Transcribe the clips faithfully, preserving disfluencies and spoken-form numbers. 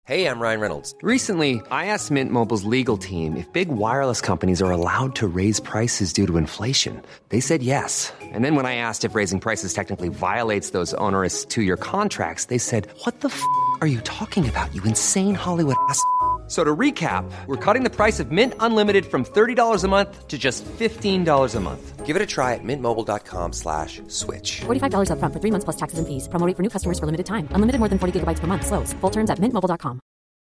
Hey, I'm Ryan Reynolds. Recently, I asked Mint Mobile's legal team if big wireless companies are allowed to raise prices due to inflation. They said yes. And then when I asked if raising prices technically violates those onerous two-year contracts, they said, what the f*** are you talking about, you insane Hollywood ass f- So to recap, we're cutting the price of Mint Unlimited from thirty dollars a month to just fifteen dollars a month. Give it a try at mintmobile.com slash switch. forty-five dollars up front for three months plus taxes and fees. Promo rate for new customers for limited time. Unlimited more than forty gigabytes per month. Slows full terms at mint mobile dot com.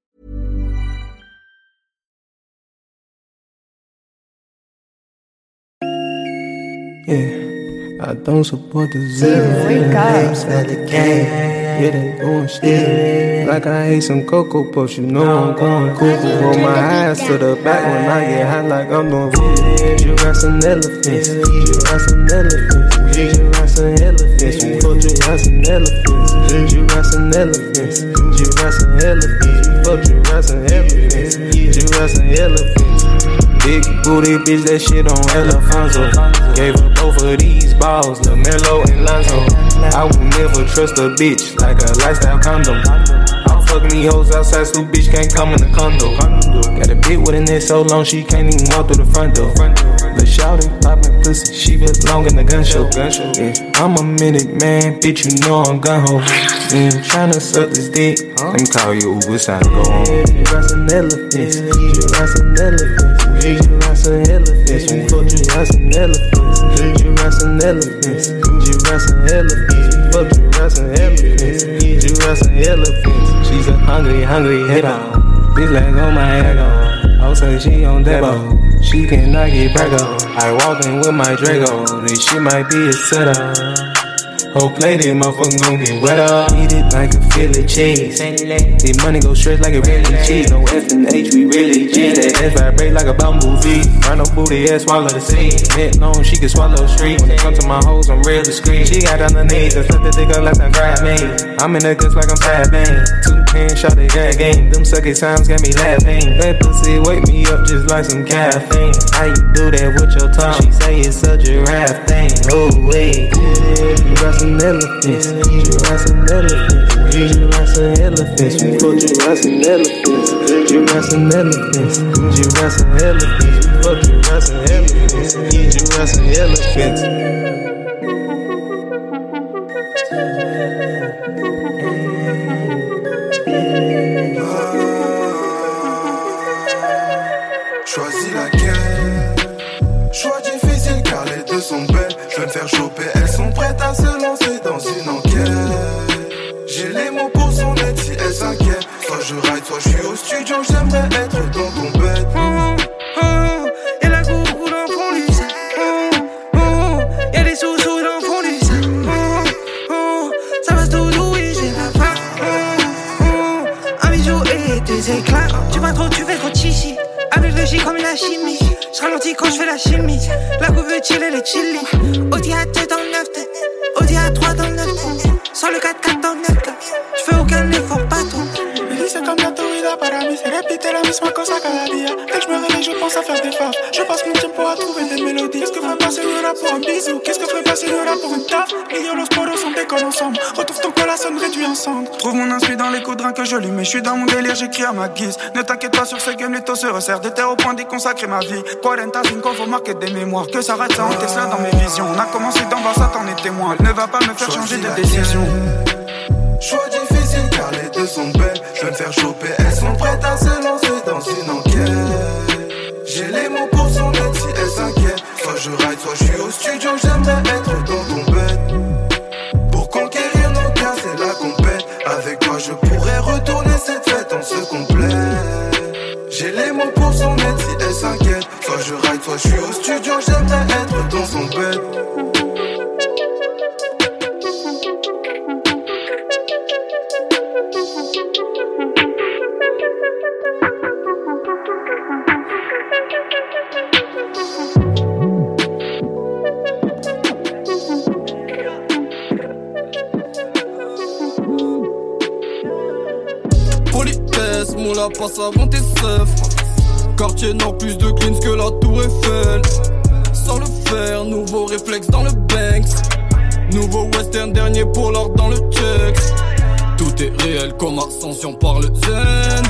Yeah, I don't support the zero. Names at the game. Yeah, they going still. Like I ate some Cocoa Puffs, you know I'm going cuckoo. Roll my eyes to the back when I get hot, like I'm doing voodoo. Giraffes and elephants, giraffes and elephants, giraffes and elephants. We fuck giraffes and elephants, giraffes and elephants, giraffes and elephants. We fuck giraffes and elephants, giraffes and elephants. Big booty bitch, that shit on Elefanzo. Gave her both of these balls, LaMelo and Lonzo. I will never trust a bitch like a lifestyle condom. I'll fuck me hoes outside, so bitch can't come in the condo. Got a bitch with a neck so long she can't even walk through the front door. The shouty poppin' pussy, she belong in the gun show. Yeah, I'm a minute man, bitch, you know I'm gun ho. Yeah, tryna suck this dick, let me call you Uber, it's time to go home. Giraffes and elephants, giraffes and elephants, giraffes and elephants. We fuck giraffes and elephants, giraffes and elephants, giraffes and elephants. We fuck giraffes and elephants, giraffes and elephants. She's a hungry, hungry hitter. Bitch leg on my ego. I'll say she on Debo. She cannot get back up. I walk in with my Drago. This shit might be a setup. Whole plate, this motherfucker gon' get wet up. Eat it like a Philly cheese. The money go straight like a really cheese. No F and H, we really G. That ass vibrate like a bumblebee. Run no booty, ass swallow the seed. Net long, she can swallow street. When it comes to my hoes, I'm real discreet. She got on her knees and slip the dick up like some grab me. I'm in the guts like I'm fat man. Two hands shot the gas game. Them sucky times got me laughing. That pussy wake me up just like some caffeine. How you do that with your tongue? She say it's a giraffe thing. Oh wait, giraffes and elephants, giraffes and elephants, giraffes and elephants. We fuck giraffes and elephants, giraffes and elephants, giraffes and elephants. We fuck giraffes and elephants, giraffes and elephants. Choisis laquelle? Choix difficile car les deux sont belles. Je vais me faire choper, elles sont prêtes à se lancer dans une enquête. J'ai les mots pour son aide si elle s'inquiète. Soit je ride, soit je suis au studio, j'aimerais être dans ton bed. Oh, oh, y'a la gourou dans le fond du sac. Oh, oh, y'a des sous-sous dans le fond du sac. Oh, oh, ça va tout douiller, j'ai la faim. Oh, oh, un bijou et des éclats. Tu vas trop, tu fais trop chichi. Avec le J comme une chimie. Je ralentis quand je fais la chimie. La coupe veut chiller les chili. Audi A deux dans le neuf tête. Audi A trois dans le neuf tête. Sans le quatre quatre dans le neuf tête. Je fais aucun effort, pas trop. Me dice cambiar tu vida para mí. Se repite la misma cosa cada día. Dès que je me réveille, je pense à faire des faves. Je passe mon temps à trouver des mélodies. Qu'est-ce que ferait pas Señora pour un bisou? Qu'est-ce que ferait pas Señora pour une taf? Rio, los poros, on décolle ensemble. Retrouve ton col, la sonne réduit ensemble. Trouve mon inspire dans les coups de rein que je lui mets. Je suis dans mon délire, j'écris à ma guise. Ne t'inquiète pas sur ce game, les taux se resserrent. De terre au point d'y consacrer ma vie. quarante cinq, faut marquer des mémoires. Que ça rate, ça en Tesla dans mes visions. On a commencé d'en bas, ça t'en est témoin. Elle ne va pas me faire changer de décision. Choix difficile car les deux sont belles. Je vais me faire choper, elles sont prêtes à se lancer dans une enquête. J'ai les mots pour son aide si elle s'inquiète. Soit je ride, soit je suis au studio, j'aimerais être dans ton bed. Pour conquérir nos cœurs, c'est la compète. Avec toi je pourrais retourner cette fête en se complète. J'ai les mots pour son aide si elle s'inquiète. Soit je ride, soit je suis au studio, j'aimerais être dans son bed. Politesse, moula passe avant tes seufs. Quartier nord, plus de cleans que la tour Eiffel. Sans le faire, nouveau réflexe dans le Banks. Nouveau western, dernier pour l'or dans le check. Tout est réel comme ascension par le zen.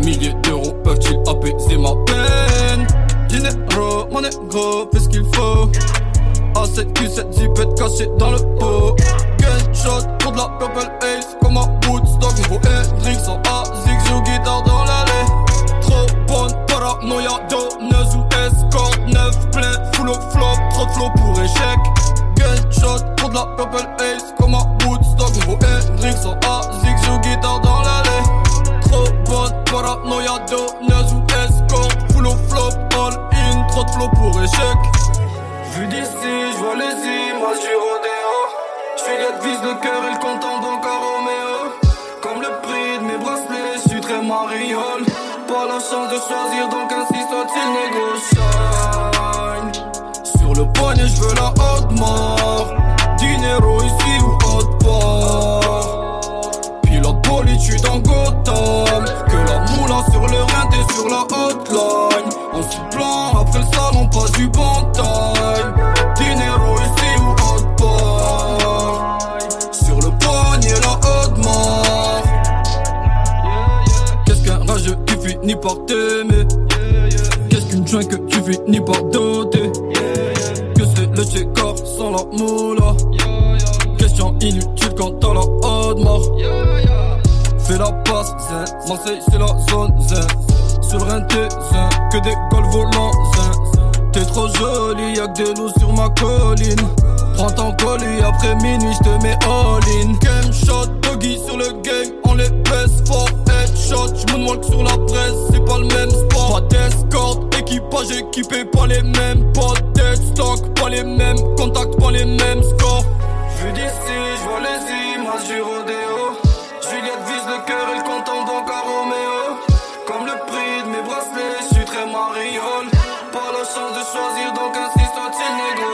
milliers d'euros peuvent-ils apaiser ma peine? Dinero, mon négro, fais ce qu'il faut. A sept Q sept zipette cachée dans le pot. Gunshot pour de la purple haze comme un Woodstock. Nouveau Hendrix en A, zig joue guitare dans l'allée. Trop bonne paranoïa, donneuse ou escorte. Neuf plein, full of flop, trop de flow pour échec. Gunshot pour de la purple haze comme un Woodstock. Nouveau Hendrix en A, zig joue guitare dans l'allée. Trop bonne paranoïa, donneuse ou escorte. Full of flop, all in, trop de flow pour échec. Vu d'ici, j'vois les images du rodéo. Juliette vise le cœur et le compte en banque à Roméo. Comme le prix de mes bracelets, j'suis très mariole. Pas la chance de choisir, donc ainsi soit-il négociable. Sur le poignet, j'veux la haute mort. Dinero ici ou haute part. Pilote bolide, j'suis dans Gotham. Que la moula sur le rein, t'es sur la hotline. En supplant, après le salon, passe du bon time. Dinero ici ou haute part. Sur le poignet, la haute mort. Qu'est-ce qu'un rageux qui finit par t'aimer? Qu'est-ce qu'une joint que tu finis par doter? Que c'est le checker sans la moula? Question inutile quand t'as la haute mort. Fais la passe, zen. Marseille c'est la zone, zen. Sur le rein t'es zen. Que des golfs volants, zen. T'es trop jolie, y'a que des loups sur ma colline. Prends ton colis, après minuit j'te mets all-in. Game shot, buggy sur le game, on les baisse fort. Headshot, j'moonwalk sur la presse, c'est pas le même sport. Pas d'escorte, équipage équipé, pas les mêmes. Pas dead stock, pas les mêmes. Contact, pas les mêmes scores. Vu d'ici, j'vois les images du rodéo. Juliette vise le cœur et le compte en banque à Roméo. Comme le prix de mes bracelets, j'suis très mariole. Pas la chance de choisir, donc ainsi soit-il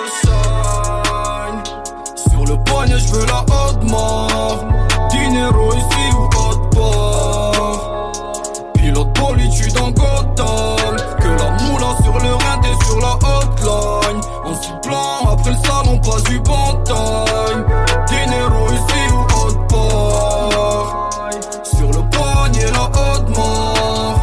négociable. Sur le poignet, j'veux la haute mort. Dinero ici ou haute part. Pilote bolide, j'suis dans Gotham. Que la moula sur le rein, t'es sur la hotline. En supplant, après le salon, passe du bon time. Dinero ici ou haute part. Sur le poignet, la haute mort.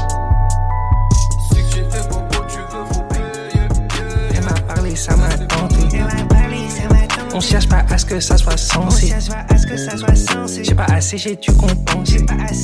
Si que j'ai fait beaucoup, tu veux, faut payer. Elle m'a parlé, ça m'a tenté. On cherche pas à ce que ça soit sensé. J'ai pas assez, j'ai dû compenser.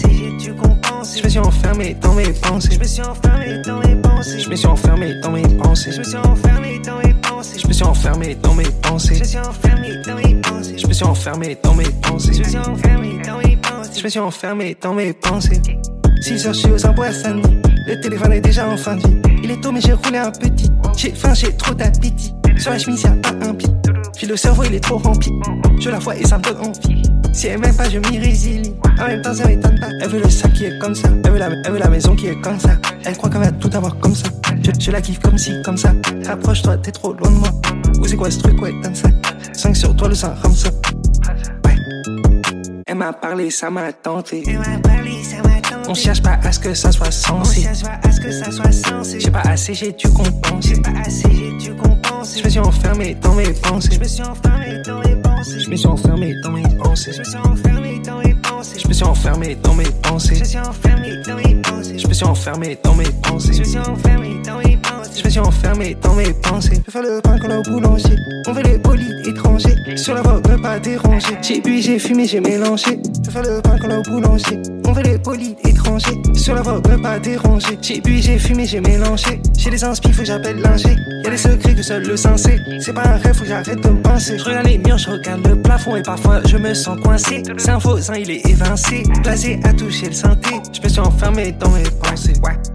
Je me suis enfermé dans mes pensées. Je me suis enfermé dans mes pensées. Je me suis enfermé dans mes pensées. Je me suis enfermé dans mes pensées. Je me suis enfermé dans mes pensées. Je me suis enfermé dans mes pensées. Je me suis enfermé dans mes pensées. Je me suis enfermé dans mes pensées. Je me suis enfermé dans mes pensées. six heures, je suis aux emboissades. Le téléphone est déjà en fin de vie. Il est tôt mais j'ai roulé un petit. J'ai faim, j'ai trop d'appétit. Sur la chemise y'a pas un pli. Puis le cerveau il est trop rempli. Je la vois et ça me donne envie. Si elle m'aime pas je m'y résilie. En même temps ça m'étonne pas. Elle veut le sac qui est comme ça. Elle veut la, elle veut la maison qui est comme ça. Elle croit qu'elle va tout avoir comme ça. Je, je la kiffe comme si comme ça. Rapproche-toi t'es trop loin de moi. Où c'est quoi ce truc ouais donne ça. cinq sur toi le sang comme ça. Ouais. Elle m'a parlé ça m'a tenté. Elle m'a parlé ça m'a tenté. On cherche pas à ce que ça soit sensé. On cherche pas à ce que ça soit sensé. J'ai pas assez j'ai dû compenser. J'ai pas assez j'ai dû compenser. Je me suis enfermé dans mes pensées. Je me suis enfermé dans mes pensées. Je me suis enfermé dans mes pensées. Je me suis enfermé dans mes pensées. Je me suis enfermé dans mes pensées. Je me suis enfermé dans mes pensées. Je me suis enfermé dans mes pensées. Je me suis enfermé dans mes pensées. Je me suis enfermé dans mes pensées. Je vais faire le pain qu'on a au boulanger. On veut les bolides étrangers. Sur la voie, ne pas déranger. J'ai bu, j'ai fumé, j'ai mélangé. Je vais faire le pain qu'on a au boulanger. On veut les bolides étrangers. Sur la voie, ne pas déranger. J'ai bu, j'ai fumé, j'ai mélangé. J'ai des inspi, faut que j'appelle l'ingé. Y'a des secrets que seul le sensé. C'est pas un rêve, faut que j'arrête de me pincer. Je regarde les murs, je regarde le plafond et parfois je me sens coincé. C'est un faux, il est évincé. Blasé à toucher le synthé. Je me suis enfermé dans mes pensées. Ouais, ouais.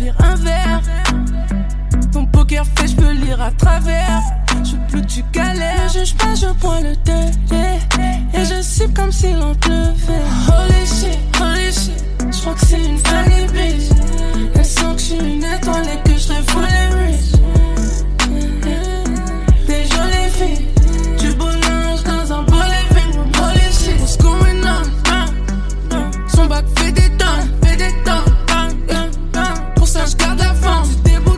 servir un verre. Ton poker fait, je peux lire à travers. Je veux plus que tu galères. Ne juge pas, je bois le thé. Et je siffle comme si l'on pleuvait. Holy shit, holy shit. Je crois que c'est une funny bitch. Elle sent que je suis une étoile et que je serais full rich. Des jolies filles. Du beau linge dans un beau living room. Holy shit, what's going on? Son bac fait des tonnes, fait des tonnes. Pour ça, je garde la forme. C'est dégoûtant.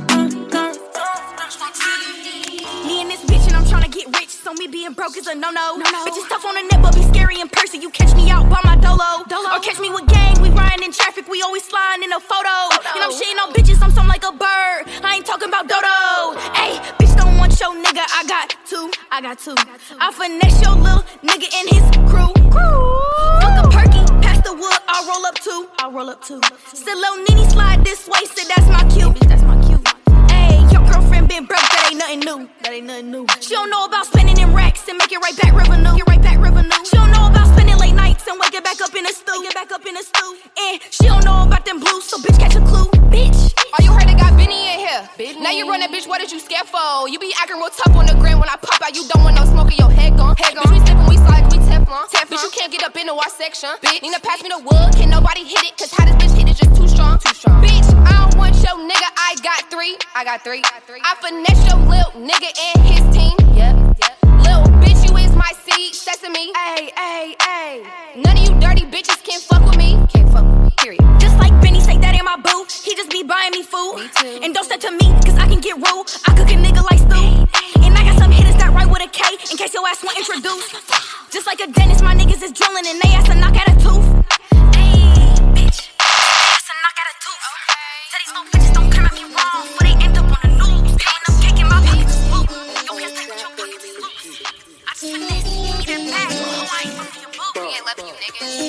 Me and this bitch and I'm tryna get rich. So me being broke is a no-no. no-no. Bitches tough on the net but be scary in person. You catch me out by my dolo. dolo. Or catch me with gang, we riding in traffic. We always sliding in a photo. photo. And I'm shitting on bitches, I'm something like a bird. I ain't talking about dodo. Ayy, bitch don't want your nigga. I got two, I got two. I finesse your little nigga and his crew. crew. Fuck a perky, pass the wood, I'll roll up too. I'll roll up too. Still little Nene slide this way, so that's my cue. Bitch, that's my cue. Your girlfriend been broke, that ain't nothing new. That ain't nothing new. She don't know about spending in racks and make it right back revenue. Get right back revenue. She don't know about spending late nights and wake it back up in a stew. Get back up in a stew. And she don't know about them blues, so bitch catch a clue, bitch. Oh, you heard they got Benny in here. Benny. Now you run that bitch, what did you scare for? You be acting real tough on the gram when I pop out. You don't want no smoke in your head gone. Head gone. Bitch, we sippin', we slide, we Teflon. Teflon. Bitch, you can't get up into our section. Bitch, Nina pass me the wood, can nobody hit it? Cause how this bitch hit it just too strong. Too strong. Bitch, I don't want your nigga, I got three. I got three. I finesse your lil' nigga and his team. Yep, yep. Lil' bitch, you is my seed, sesame. Ayy, ayy, ayy. None of you dirty bitches can fuck with me. Can't fuck with me, period. Just like Benny say that ain't my boo. He just be buying me food. Me too. And don't step to me, cause I can get rude. I cook a nigga like stew. And I got some hitters that write with a K, in case your ass want introduced. Just like a dentist, my niggas is drilling and they ass to knock out a tooth. Ayy, bitch. Ass to knock out a tooth. Tell these little bitches don't come at me wrong, but they end up on the news. Ain't no cake in my pockets is blue. Yo, can't take what your pockets is loose. I just finesse, give me that bag. Oh, I ain't fucking your boo. We ain't loving you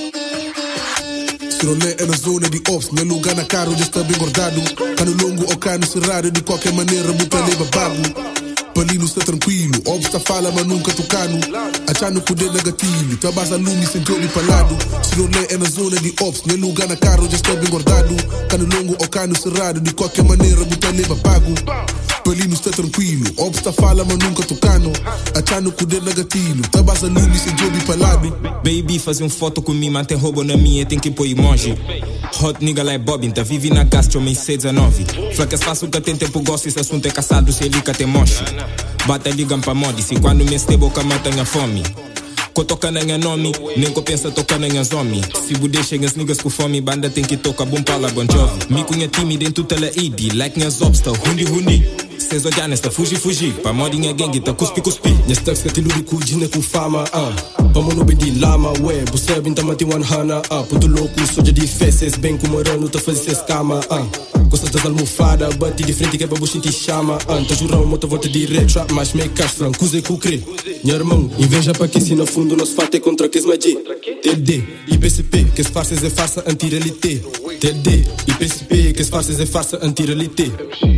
niggas. Sirolé é na zona de ops, no lugar na caro já está bem guardado. Cano longo ou cano cerrado, de qualquer maneira, muita lei babado. Palino está tranquilo, ops está fala, mas nunca tocano. Achando poder negativo, tua base lume sem jogo palado. Sirolé é na zona de ops, no lugar na caro já está bem guardado. Cano longo ou cano cerrado, de qualquer maneira, muita lei babado. Palino está tranquilo, ops está fala, mas nunca tocano. Achando poder negativo, tua base lume sem jogo palado. Baby, fazer um foto comigo, mantém roubo na minha, tem que pôr emoji. Hot nigga like Bobbin, tá vive na gastro, homem C dezenove. Flaca é fácil que tem tempo, gosto, esse assunto é caçado, se ele que tem moche. Bata ligam pra mod, se quando me estebo, cama tenha fome. Co toca na minha nome, nem co pensa tocar na minha zombie. Se bude chega as niggas com fome, banda tem que tocar bom pala, Bon Jovi. Me cunha time dentro tela I D, like minhas ops, tá hundi hundi. Cês olhar tá fugi fugi, pa modinha gangue tá cuspi cuspi. Minhas thugs que te luri kujina com fama, ah. Vamos no bedi lama, ué, você é bem tamati one hana, ah. Puto louco, soja de feces, bem como morano, tá fazendo escama, ah. Gostas das almofadas, bate de frente que é pra buchin te chama, ah. Tá jurão, moto volta direto, trap, mas make cash franco, cuse com crê. Minha irmão, inveja pra que se no fundo nós fate contra que es magia. T D, I P C P, que es farces é farsa anti-realité. T D, I P C P, que es farces é farsa anti-realité.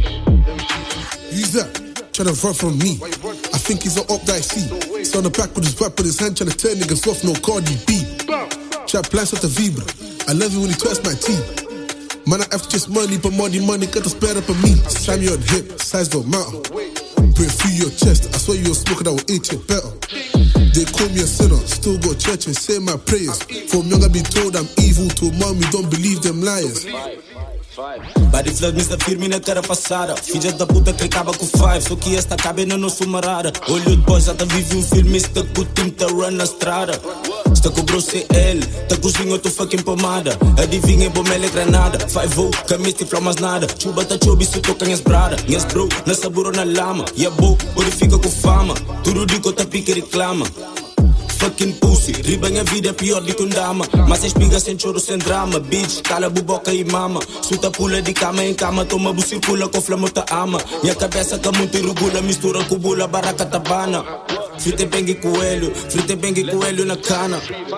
Who's that? Tryna run from me. I think he's an op that I see. He's on the back with his whip with his hand tryna turn niggas off, no Cardi B. Trap plans at the vibra. I love it when he twists my teeth. Man, I have to just money, but money, money got to spare up on me. Slam you on hip, size don't matter. Breathe through your chest, I swear you're smoking, that will eat you better. They call me a sinner, still go to church and say my prayers. From young I been told I'm evil, to mommy don't believe them liars. Body flood, mister firme na cara passada. Filha da puta que acaba com five, só que esta cabe na nossa marada. Olho de boys, já tá vive um filme, está com o time, tá run na estrada. Está com o bro C L, tá cozinho, tô fucking pomada. Adivinha, bom mele granada. Five O, camisa e flamas nada. Chuba tá chubi, se toca minhas brada. Minhas bro, na saburo na lama. E a bo, body fica com fama. Tudo digo, tá pique reclama. Fucking pussy, riba minha vida é pior do que um dama. Mas espiga sem choro, sem drama. Bitch, cala buboca e mama. Suta pula de cama em cama, toma bu circula com flama ta ama. Minha cabeça tá muito irregula, mistura com bula, barraca tabana. Frite bengue coelho, frite bengue coelho na cana.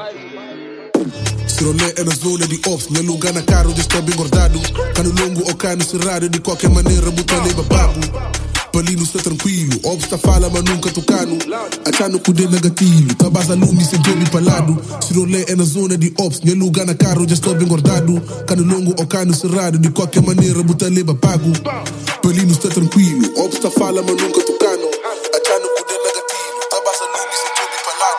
Sirolé é na zona de ops, no lugar na caro já está bem guardado. Cano longo ou cano cerrado, de qualquer maneira, botar lei bababo. Palino sta tranquilo, obsta fala ma nunca tocano. Achano cu de negativo, tabasa lumi sem jobi palado. Se rolê é na zona de ops, meu lugar na carro já estou bem guardado. Cano longo ou cano cerrado, de qualquer maneira buta leva pago. Palino sta tranquilo, obsta fala ma nunca tocano. Achano cu de negativo, tabasa lumi sem jobi palado.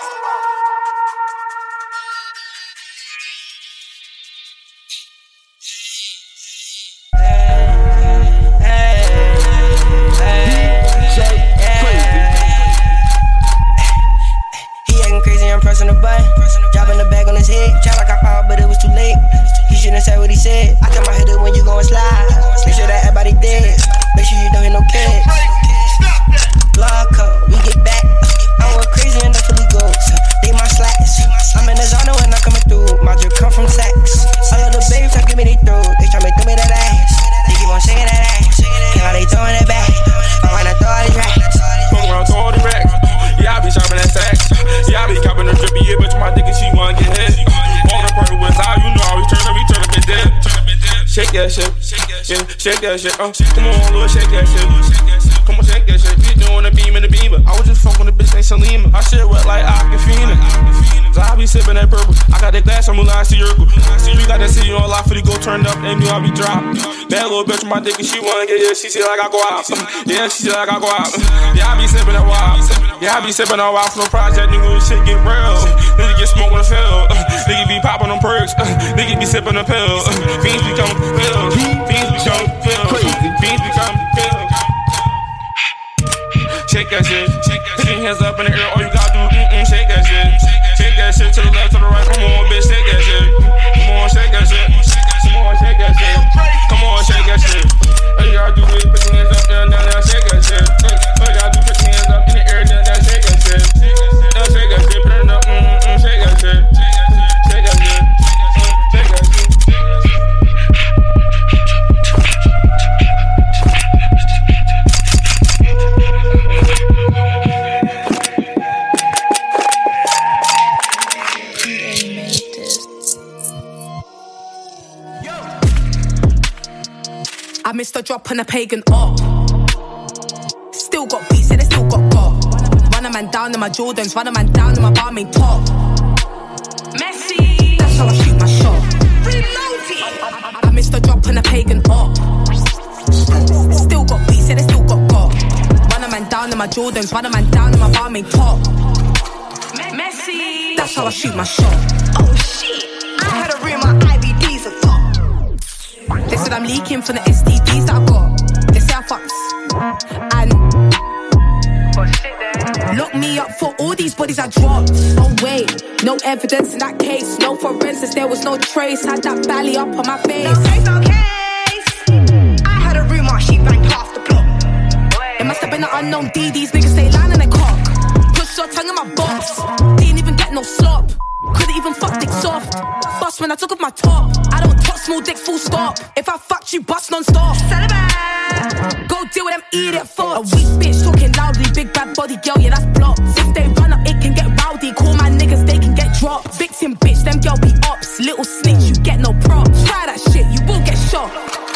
Pressing the button, dropping the bag on his head. Try like I powered, but it was too late. He shouldn't say what he said. I got my head up when you gon' slide. Make sure that everybody dead. Make sure you don't hit no kids. Block up, we get back. I went crazy in the Philly goats. They my slacks. I'm in the zone when I'm coming through. My drip come from Saks. All of the babes try to give me they throat. They try to throw me that ass. They keep on shaking that ass. And how they throwing it back. I wanna throw all these racks. Fuck around, throw all these racks. Yeah, I be shopping at Saks. Yeah, I be copping the drippy, yeah, bitch, my dick and she wanna get hit. On the party with how you know how we turn up, we turn up and dead. Shake that shit, yeah, shake that shit, uh, come on, Lord, shake that shit. Come on, shake that shit, you doing the beam in the beamer. I was just fucking the bitch named Salima. I shit wet like Aquafina. So I be sipping that purple. I got that glass, I'm Mulan Circle. You got that city on lock for the go turned up, they knew I be dropped. Bad little bitch with my dick and she wanna get it. She said like I go out. Yeah, she said like I go out. Yeah, I be sipping that wild. Yeah, I be sipping that wild from the project, nigga, this shit get real. Nigga get smoke on the field. Nigga be popping them perks. Nigga be sipping the pill. Fiends become pills. Fiends become pills. Fiends become pills. Shake that shit. Put your hands up in the air. All you gotta do, mm-mm, shake that shit. Shake that shit to the left, to the right. Come on, bitch, shake that shit. Come on, shake that shit. Come on, shake that shit. Come on, shake that shit. All you gotta do is put your hands up there, now, now, shake that shit. All you gotta do is put your hands up in the air, now, now, shake that shit. Now, shake that shit, put it up, mm-mm, shake that shit. Shake that shit. Shake that shit. I missed a drop on a pagan up. Still got beats and I still got got. Run a man down in my Jordans, run a man down in my barmaid top. Messi, that's how I shoot my shot. I, I missed a drop on a pagan up. Still got beats and I still got got. Run a man down in my Jordans, run a man down in my barmaid top. Messi, that's how I shoot my shot. Oh shit, I had a room my I V Ds are fucked. They said I'm leaking from the S T Ds that I got. They say I fucks and lock me up for all these bodies I dropped. Oh wait, no evidence in that case. No forensics, there was no trace. Had that belly up on my face. No case, no case. I had a rumour she banged half the block. It must have been an unknown D. These niggas stay lying in a cock. Push your tongue in my box. Didn't even get no slop. Couldn't even fuck dick soft. Bust when I took off my top. I don't touch small dick, full stop. If I fucked you, bust non-stop. Go deal with them idiot fucks. A weak bitch talking loudly, big bad body girl, yeah, that's blocked. If they run up, it can get rowdy. Call my niggas, they can get dropped. Victim bitch, them girl be ops. Little snitch, you get no props. Try that shit, you will get shot.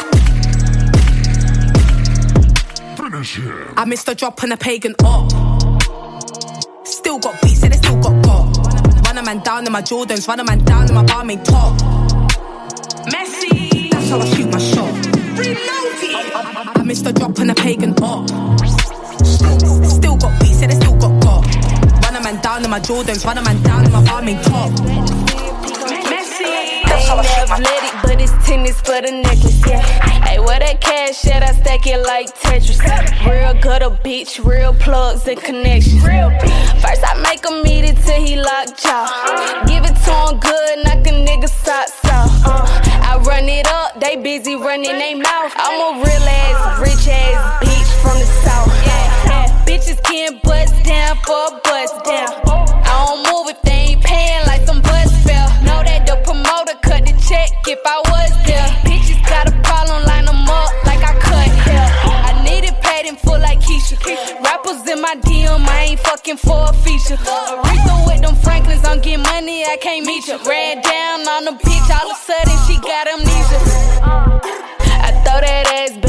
Finish him. I missed a drop on a pagan up. Still got beats and I still got got. Run a man down in my Jordans, run a man down in my barmaid top. Messi, that's how I shoot my shot. I, I, I missed a drop on a pagan up. Still got beats and I still got got. Run a man down in my Jordans, run a man down in my barmaid top. Messi, that's how I shoot my shot. Athletic, but it's tennis for the necklace, yeah. Hey, where that cash at? I stack it like Tetris. Real gutter, bitch, real plugs and connections. First I make him eat it till he locked jaw. Give it to him good, knock a nigga socks off. I run it up, they busy running they mouth. I'm a real ass, rich ass bitch from the south. Yeah, yeah. Bitches can't bust down for a bust down. I don't move if they ain't paying like some bus fare. Know that the promoter cut the check if I was there. Bitches got a problem, line them up like I cut hair. I need it paid in full like Keisha. Rappers in my D M, I ain't fucking for a feature. Aretha with them Franklins, I'm getting money, I can't meet you. Ran down on the bitch, all of a sudden she got amnesia. I throw that ass back to see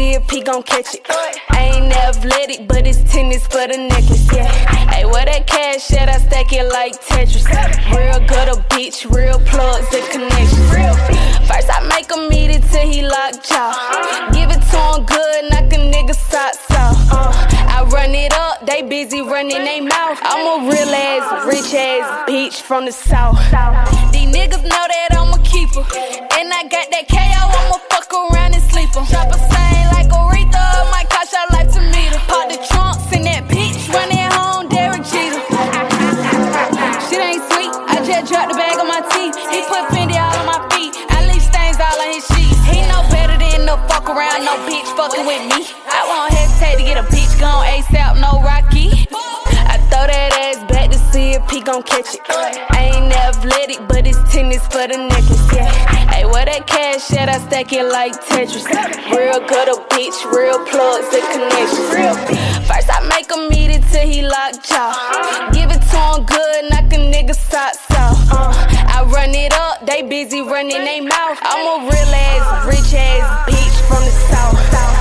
see if he gon' catch it. I ain't athletic, but it's tennis for the necklace, yeah. Hey, where that cash at? I stack it like Tetris. Real good a bitch, real plugs and connections. First I make him eat it till he locked jaw. Give it to him good, knock a nigga socks off. Uh, I run it up, they busy running they mouth. I'm a real ass, rich ass bitch from the south. These niggas know that I'm a keeper, and I got that K O, I'ma fuck around and sleep em. Drop a stain like Aretha, might cost your life to meet her. Pop the trunks in that bitch, running home, Derek Jeter. Shit ain't sweet, I just dropped the bag on my teeth. He put Fendi all on my feet, I leave stains all on his sheets. He know better than to fuck around, no bitch fucking with me. I won't hesitate to get a bitch gone ASAP, no Rocky. I throw that ass back to see if he gon' catch it. I ain't athletic, but it's tennis for the necklace, yeah. Hey, where that cash at? I stack it like Tetris. Real good a bitch, real plugs and connections. First I make him eat it till he locked jaw. Give it to him good, knock a nigga socks off. Uh, I run it up, they busy running they mouth. I'm a real ass, rich ass bitch from the south.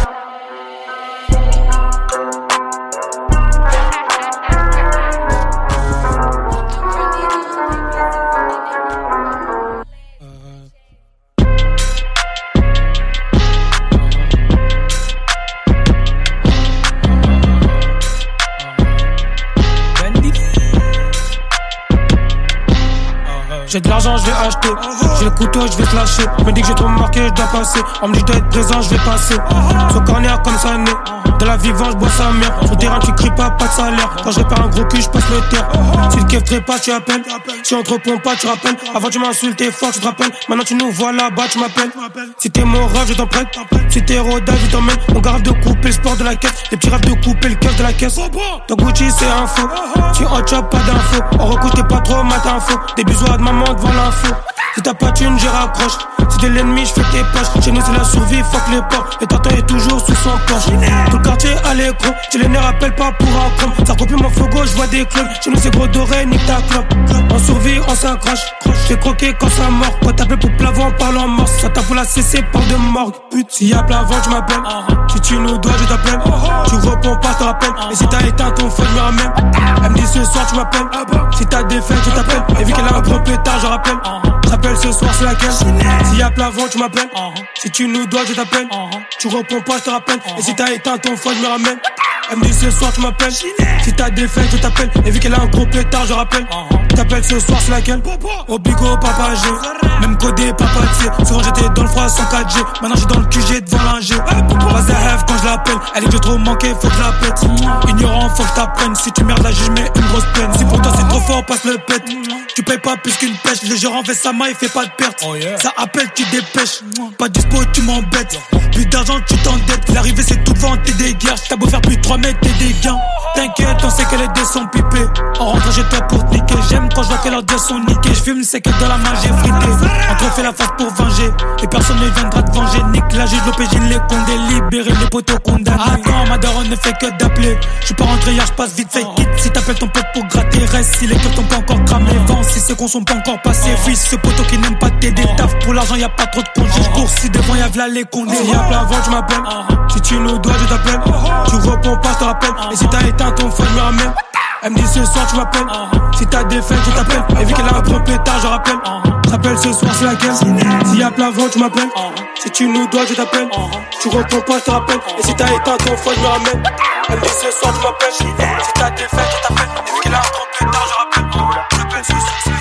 J'ai de l'argent, je vais acheter. J'ai le couteau, je vais te lâcher. Me dis que j'ai trop marqué, je dois passer. On me dit que je dois être présent, je vais passer. Sur corner comme ça né. Dans la vivance, je bois sa mère. Sur le terrain, tu cries pas, pas de salaire. Quand je répare un gros cul, je passe le terre. Si le keuf pas, tu appelles. Si on te répond pas, tu rappelles. Avant, tu m'insultais fort, tu te rappelles. Maintenant, tu nous vois là-bas, tu m'appelles. Si t'es mon rêve, je t'en prête. Si t'es rodage, je t'emmène. On garde de couper le sport de la caisse. Les petits rêves de couper le keuf de la caisse. Ton Gucci, c'est un faux. Tu hot shop, pas d'infos. On recouche, t'es pas trop matin faux. Des bisous à de maman devant l'info. Si t'as pas de thune, j'y raccroche. Si t'es l'ennemi, j'fais tes poches. Chez nous, c'est la survie, fuck les porcs. Et tonton est toujours sous son poche. Tout le quartier à l'écran. J'ai les nerfs, appelle pas pour un chrome. Ça recopie mon flow gauche, j'vois des clones. Chez nous, c'est gros doré, nique ta clope. On survit, on s'accroche. J'ai croqué quand ça mord. Quand t'appelles pour plavant, parle en morse. Ça tape pour la C C, parle de morgue. Pute, s'il y a plavant, tu m'appelles. Si tu nous dois, je t'appelle. Tu réponds pas, je te rappelle. Et si t'as éteint ton feu, je me ramène. Elle me dit ce soir, tu m'appelles. Si t'as des faits, je t'appelle. Et vu qu'elle a un gros pétard, je rappelle. J'appelle ce soir, c'est laquelle? S'il y a plavant, tu m'appelles. Si tu nous dois, je t'appelle. Tu réponds pas, je te rappelle. Et si t'as éteint ton feu, je me ramène. Elle me dit ce soir, tu m'appelles. Si t'as des faits, je t'appelle. Et vu qu'elle a un gros pétard, je rappelle. T'appelles ce soir, c'est laquelle? Obligo, papa G. Même codé, papa T. Souvent j'étais dans le froid sans quatre G. Maintenant j'suis dans le Q G devant l'ingé. Vas-y, rêve quand je l'appelle. Elle dit que j'ai trop manqué, faut que je la pète. Ignorant, faut que t'apprennes. Si tu merdes là, je mets une grosse peine. Si pour toi c'est trop fort, passe le pète. Tu payes pas plus qu'une pêche. Le gérant fait sa main, il fait pas de perte. Ça appelle, tu dépêches. Pas dispo, tu m'embêtes. Plus d'argent, tu t'endettes. L'arrivée c'est tout devant, t'es des guerres. T'as beau faire plus de trois mètres, t'es des gains. T'inquiète, on sait que les dés sont pipés. En rentrant chez toi pour te niquer. J'aime quand je vois que leurs dés sont niqués. J'fume, c'est que dans la main j'ai frité. Entre fait la face pour venger. Et personne ne viendra te venger. Nique la juge, l'O P J, les condés. Libérer les poteaux condamnés. Attends, ma daronne ne fait que d'appeler. J'suis pas rentré hier, j'passe vite fait quitte. Si t'appelles ton pote pour gratter, reste. Si les keufs t'ont pas encore cramé. Vent, si c'est qu'on sont pas encore passés. Fils, ce poteau qui n'aime pas t'aider. Taf pour l'argent, y'a pas trop de congés. J'cours si devant y'a v'là les condés. Y'a plein avant, tu m'appelles. Si tu nous dois, je t'appelle. Tu réponds pas, je te rappelle. Et si t'as éteint ton feu, je me ramène. Elle me dit ce soir, tu m'appelles. Si t'as des faits, je t'appelle. Et vu qu'elle a un gros pétard, je rappelle. J'appelle ce soir, c'est laquelle? S'il y a plein vent, tu m'appelles. Si tu nous dois, je t'appelle. Tu réponds pas, je te rappelle. Et si t'as éteint ton feu, je me ramène. Elle me dit ce soir, tu m'appelles. Si t'as des faits, je t'appelle. Et vu qu'elle a un gros pétard, je rappelle. J'appelle ce soir, c'est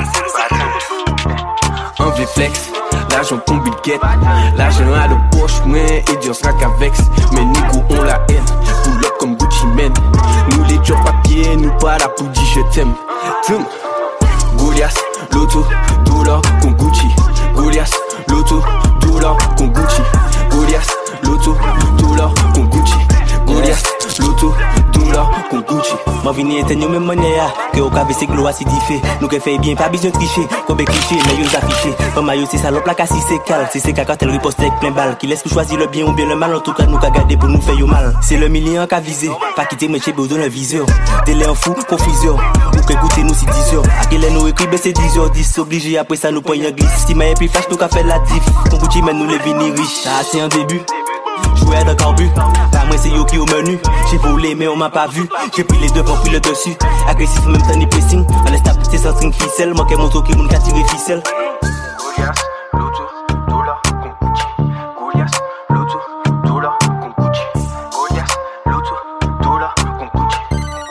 laquelle? Un V-Flex. L'argent tombe il guette. L'argent à la poche, ouais, et Dieu sera qu'avec. Mais nous on la haine. Pull up comme Gucci Mane. Nous les jobs papier, nous pas la pour dire je t'aime. Tum. Goliath, Loto, dollar, con Gucci. Goliath, Loto, dollar, con Gucci. Goliath, Loto, dollar, con Gucci. Goliath, Loto, dollar, con Gucci. Moi vini éteindre même monnaie que au café c'est glow acidifié. Nous que fait bien pas besoin de tricher. Comme cliché mais yo affiché. Comme maillot c'est salope la casse c'est cal. Si c'est caca tel riposte avec plein balle. Qui laisse pour choisir le bien ou bien le mal. En tout cas nous qu'a garder pour nous faire yo mal. C'est le million qu'a visé. Pas quitter mais chez besoin d'un viseur. Délai en fou, confusion. Ou que écouter nous si dix heures. À quelle nous écrit c'est dix heures dix. Obligé après ça nous prendre un glisse. Si maille plus fâche nous qu'a fait la diff. Ton Gucci mais nous les vini riches. Ça c'est un début. jouer de corbu. Pas moi c'est yo qui au menu. J'ai volé mais on m'a pas vu. J'ai pris les devants puis le dessus. Agressif même temps ni pressing. À l'instab c'est sans string ficelle. Manquait mon tour qui moun ka tirer ficelle. Goliath, l'auto, dollar, con Gucci. Goliath, l'auto, dollar, con Gucci. Goliath, l'auto, dollar, con Gucci.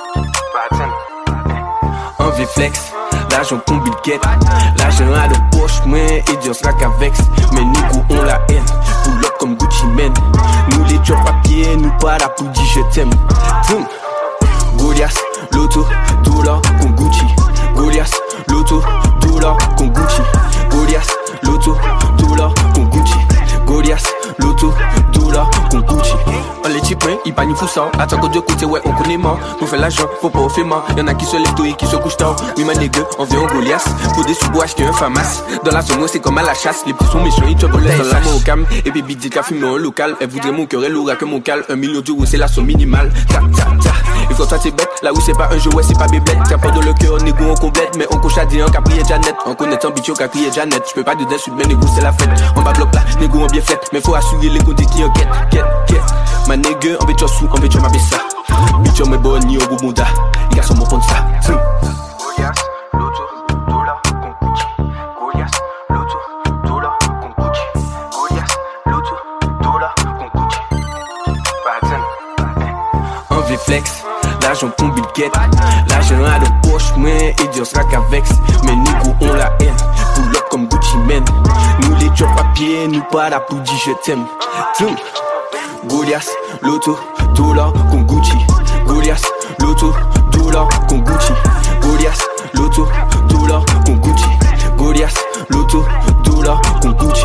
Batten. Un V-Flex, l'argent qu'on bilquette. L'argent à de poche, moi, et Dieu sera qu'avec. Mais nous, on la haine. Pull up comme Gucci Man. Nous, les jobs papier, nous pas la pour dire je t'aime. Tum. Goliath, l'auto, dollar, con Gucci. Goliath, l'auto, dollar, con Gucci. Goliath, l'auto, dollar, con Gucci. Goliath, l'auto, dollar, con Gucci. On les types, ils pas ni fou ça. Attends que Dieu côté, ouais, on connaît mort. Nous fait l'argent, faut pas au fait mort. Y'en a qui se lèvent tôt et qui se couchent tard. Oui, ma nègre, on vient au Goliath. Pour des sous-bois, acheter un famas. Dans la zone, c'est comme à la chasse. Les petits sont méchants, ils te volent dans la main au cam. Et puis, big dit qu'a fumé en local. Elle voudrait mon cœur, elle aura que mon cal. Un million d'euros, c'est la somme minimale. Ta, ta, ta. Et quand toi, t'es bête, là où c'est pas un jeu, ouais, c'est pas bébête. T'as pas dans le cœur, négo, on complète. Mais on coche à dire, qu'a prié Janet. En connaissant bitch, qu'a crié Janet. J'peux pas de dessus, mais négo, c'est la fête. On va bloc là, négo, on bien fait. Mais faut assurer les côtés qui enquêtent, quête, quête. Ma nègre, on veut sous, on veut ma ça. Bitch, on me bonne, ni au Boubounda. Les gars sont mon pont de ça. Goliath, l'auto, dollar, con Gucci. Goliath, l'auto, dollar, con Gucci. Goliath, l'auto, dollar, con Gucci. Batten. Un V-Flex, l'argent qu'on bilquette. L'argent à de poche, moi, et Dieu sera qu'avec. Mais nous, on la haine. Pull up comme Gucci Man. Nous, les jobs papier, nous pas la pour dire je t'aime. Tum. Goliath, l'auto, dollar, con Gucci. Goliath, l'auto, dollar, con Gucci. Goliath, l'auto, dollar, con Gucci. Goliath, l'auto, dollar, con Gucci.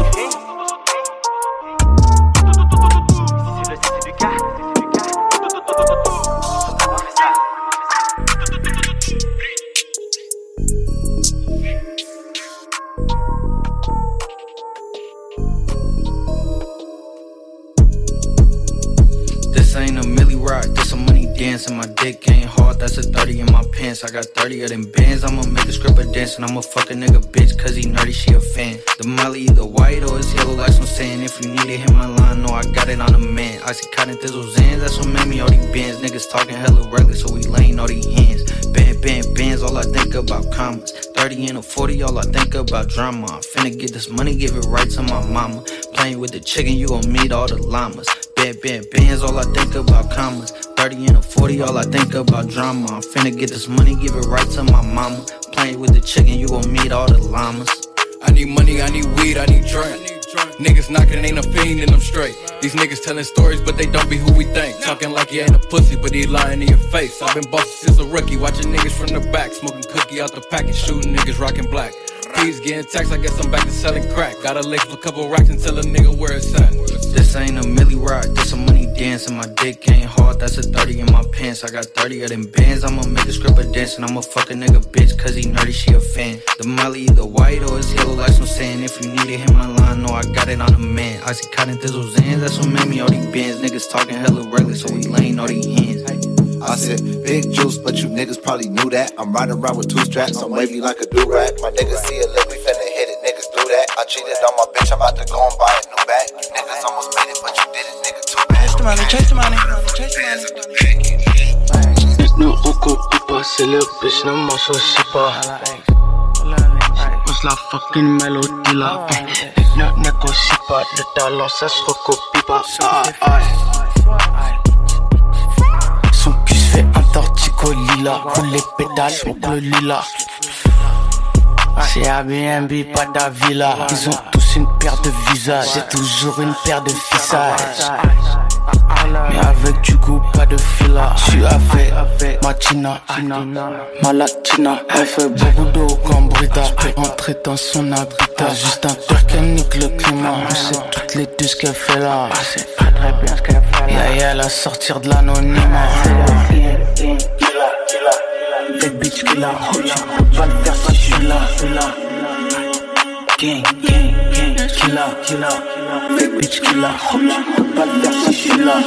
This ain't a milli rock, this a money dance. And my dick ain't hard, that's a thirty in my pants. I got thirty of them bands, I'ma make a stripper dance. And I'ma fuck a nigga bitch, cause he nerdy, she a fan. The molly either white or it's yellow like some sand. If you need it, hit my line, know I got it on the man. Icy cotton thizzle zans, that's what made me all these bands. Niggas talking hella regular, so we laying all these hands. Band, band, bands, all I think about commas. thirty and a forty, all I think about drama. I'm finna get this money, give it right to my mama. Playing with the chicken, you gon' meet all the llamas. Band, band, bands, all I think about commas. thirty and a forty, all I think about drama. I'm finna get this money, give it right to my mama. Playing with the chicken, you gon' meet all the llamas. I need money, I need weed, I need drink. Niggas knocking, ain't a fiend and I'm straight. These niggas telling stories, but they don't be who we think. Talking like you ain't a pussy, but he lying in your face. I've been bossy since a rookie, watching niggas from the back. Smoking cookie out the pack and shooting niggas rocking black. Please getting taxed, I guess I'm back to selling crack. Got a lick for a couple racks and tell a nigga where it's at. This ain't a milli rock, this a money dance. And my dick ain't hard, that's a thirty in my pants. I got thirty of them bands, I'ma make a stripper dance. And I'ma fuck a nigga bitch, cause he nerdy, she a fan. The molly either white or it's yellow like some sand. If you need it, hit my line, know I got it on the man. Icy cotton thizzle zans, that's what made me all these bands. Niggas talking hella regular, so we laying all these hands. I said, big juice, but you niggas probably knew that. I'm riding around with two straps, I'm wavy like a do-rag. My niggas see a lick, we finna hit it, niggas do that. I cheated on my bitch, I'm about to go and buy a new bag. You niggas almost made it, but you did it, nigga, too bad. Chase the money, chase the money, chase the money. Nous recopie pas, c'est le bitch, ne m'en soucie pas. Pose la fucking mélodie là. Ne négocie pas, le talent ça se recopie pas. Son cul se fait un tortico lila. Roule les pédales, smoke le lilas. C'est Airbnb, pas d'Avila. Ils ont tous une paire de visages. J'ai toujours une paire de fissages. Mais avec du goût, pas de fila. J'suis avec ma Tina, ma latina. Elle fait beaucoup d'eau comme Brita. Peut entrer dans son habitat. Juste un tour qu'elle nique le climat. On sait toutes les deux ce qu'elle fait là. C'est pas très bien ce qu'elle fait là. Y'a y'a la sortir de l'anonymat. Fake bitch qui la roule, j'peux pas le faire si j'suis là. Gang, gang, gang, killa, killa. Fake bitch qui la roule, j'peux pas le faire si j'suis là.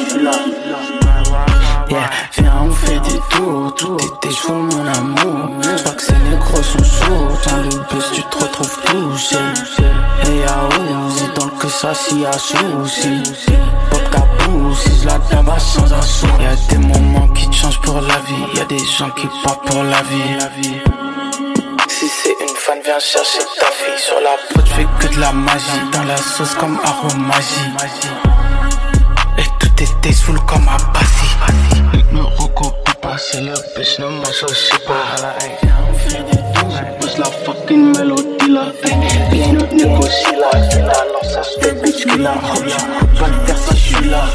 Yeah, viens on fait des tours, tout était chaud mon amour. J'crois que ces négros sont sourds, dans le bus tu te retrouves tout seul. Et y'a Uzi dans le que ça s'y a souci. Pop cap tout, c'est la tabac sans assaut. Y'a des moments qui te changent pour la vie, y'a des gens qui partent pour la vie. Si c'est une fan, viens chercher ta fille. Sur la pote, j'fais que de la magie. Dans la sauce comme aromagie. Et tout était full comme à Passy. Ne recopie pas, c'est le bitch, ne m'associe pas. Je pousse la fucking mélodie là. Bitch, ne négocie là. Alors ça se fait bitch qui la robe. J'écoute pas le faire si j'suis là.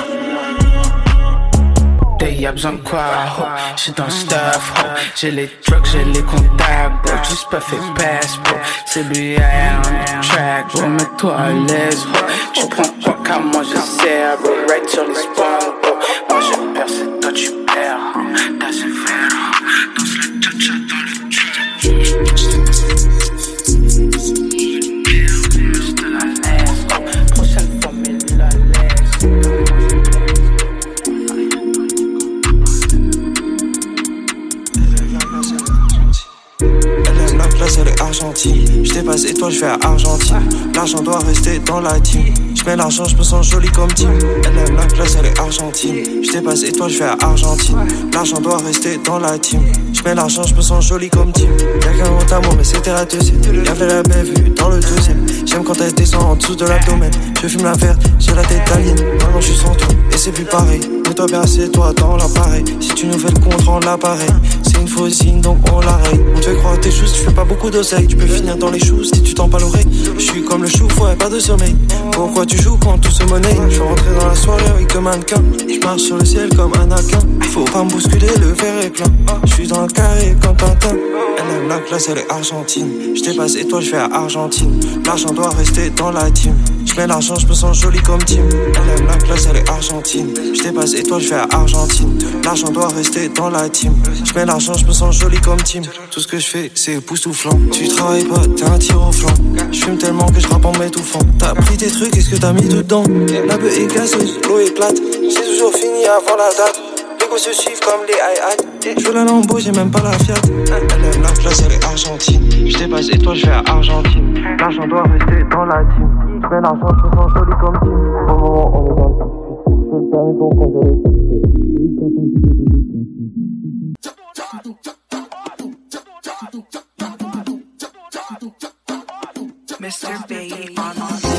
Y'a besoin de quoi, ho, j'suis dans le stuff, ho. J'ai les drugs, j'ai les contacts, bro. Juste pas fait pass, bro. C'est B I on the track, bro. Mets-toi à l'aise, ho. Tu prends quoi qu'à moi je sers, bro. Right sur les spawns, bro. Moi je perds, c'est toi tu perds. T'as ce fer, danse le cha-cha dans le trap. Je te la laisse, prochaine fois mais la laisse. La classe elle est argentine. Je dépasse et toi je vais à Argentine. L'argent doit rester dans la team. Je mets l'argent, je me sens joli comme team. Elle aime la classe, elle est argentine. Je dépasse et toi je vais à Argentine. L'argent doit rester dans la team. Je mets l'argent, je me sens joli comme team. Y'a qu'un mot d'amour mais c'était la deuxième. Y'avait la belle vue dans le deuxième. J'aime quand elle descend en dessous de l'abdomen. Je fume la verte, j'ai la tête alien. Maintenant je suis sans toi et c'est plus pareil. Mets-toi bien, c'est toi dans l'appareil. Si tu nous fais le contre en l'appareil, c'est une fausse signe donc on l'arrête. On te fait croire tes choses, tu fais pas beaucoup d'oseille. Tu peux finir dans les choux si tu t'en pas l'oreille. Je suis comme le chou, ouais, pas de sommeil. Pourquoi tu joues quand tout se monnaie? Je suis rentré dans la soirée avec deux mannequins. Je marche sur le ciel comme un aquin. Faut pas me bousculer, le verre est plein. Je suis dans le carré comme Tintin. Elle aime la classe, elle est argentine. Je dépasse et toi je vais à Argentine. L'argent doit rester dans la team. Je mets l'argent, je me sens joli comme team. Elle aime la classe, elle est argentine. Je dépasse et toi je vais à Argentine. L'argent doit rester dans la team. Je mets l'argent, je me sens joli comme team. Tout ce que je fais c'est époustouflant. Tu travailles pas, t'es un tir au flanc. Je fume tellement que je rappe en m'étouffant. T'as pris tes trucs, est-ce que t'as mis dedans? La beuh est gazeuse, l'eau est plate. C'est toujours fini avant la date. Les gosses se suivent comme les hi-hats. Je veux la Lambo, j'ai même pas la Fiat. Elle aime la classe, elle est argentine. Je dépasse et toi je vais à Argentine. L'argent doit rester dans la team. Je mets l'argent, je me sens joli comme team. Au moment on est dans le six-huit. Je le permets pour quand je l'ai mister Baby on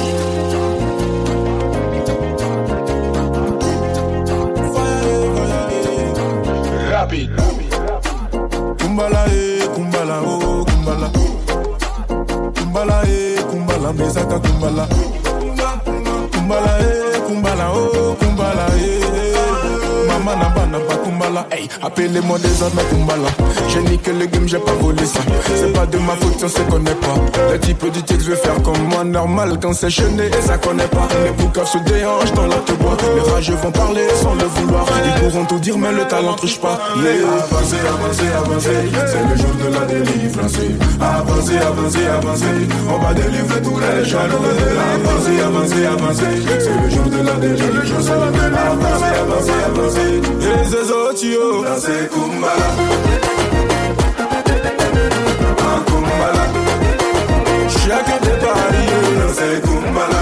Rapid. Kumbala eh, kumbala oh, kumbala. Kumbala eh, kumbala, mesaka kumbala. Kumbala eh, kumbala oh, kumbala eh. Mama n'a pas n'a pas kumbala. Hey, appelez-moi désormais kumbala. J'ai niqué le game, j'ai pas volé ça. C'est pas de ma faute, on se connaît pas. Le type du texte veut faire comme moi, normal quand c'est chené et ça connaît pas. Les boucaves se déhanchent dans la te bois. Les rageux vont parler sans le vouloir. Ils pourront tout dire, mais le talent touche pas. Yeah. Avancez, avancez, avancez, c'est le jour de la délivrance. Avancez, avancez, avancez, on va délivrer tous les jaloux. Avancez, avancez, avancez, c'est le jour de la délivrance. Avancez, avancez, avancez, et les autres, yo, dansez kumbala. Kumbala, chacun des paris, c'est Kumbala.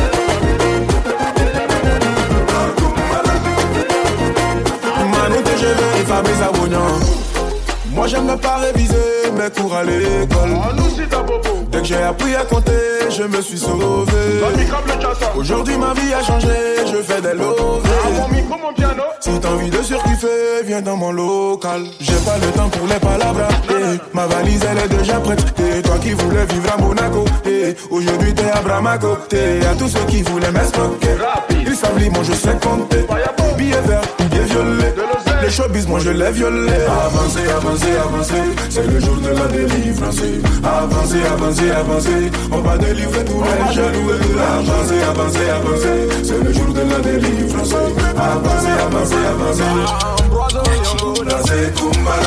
Kumbala, Manu, je veux et Fabrice Abognan. Moi j'aime ne pas réviser mes cours à l'école. Dès que j'ai appris à compter, je me suis sauvé. Aujourd'hui ma vie a changé, je fais des lovés. Si t'as envie de surkiffer, viens dans mon local. J'ai pas le temps pour les palabras. Eh, ma valise elle est déjà prête. Et toi qui voulais vivre à Monaco, eh, aujourd'hui t'es à Bramako. T'es à tous ceux qui voulaient m'escroquer. Ils savent lire, moi je sais compter. Billet vert, billet violet. Les showbiz, moi je l'ai violé. Avancez, avancez, avancez, c'est le jour de la délivrance. Avancez, avancez, avancez, on va délivrer tous les jaloux. Avancez, avancez, avancez, c'est le jour de la délivrance. Avancez, avancez, avancez, dansez Kumbala.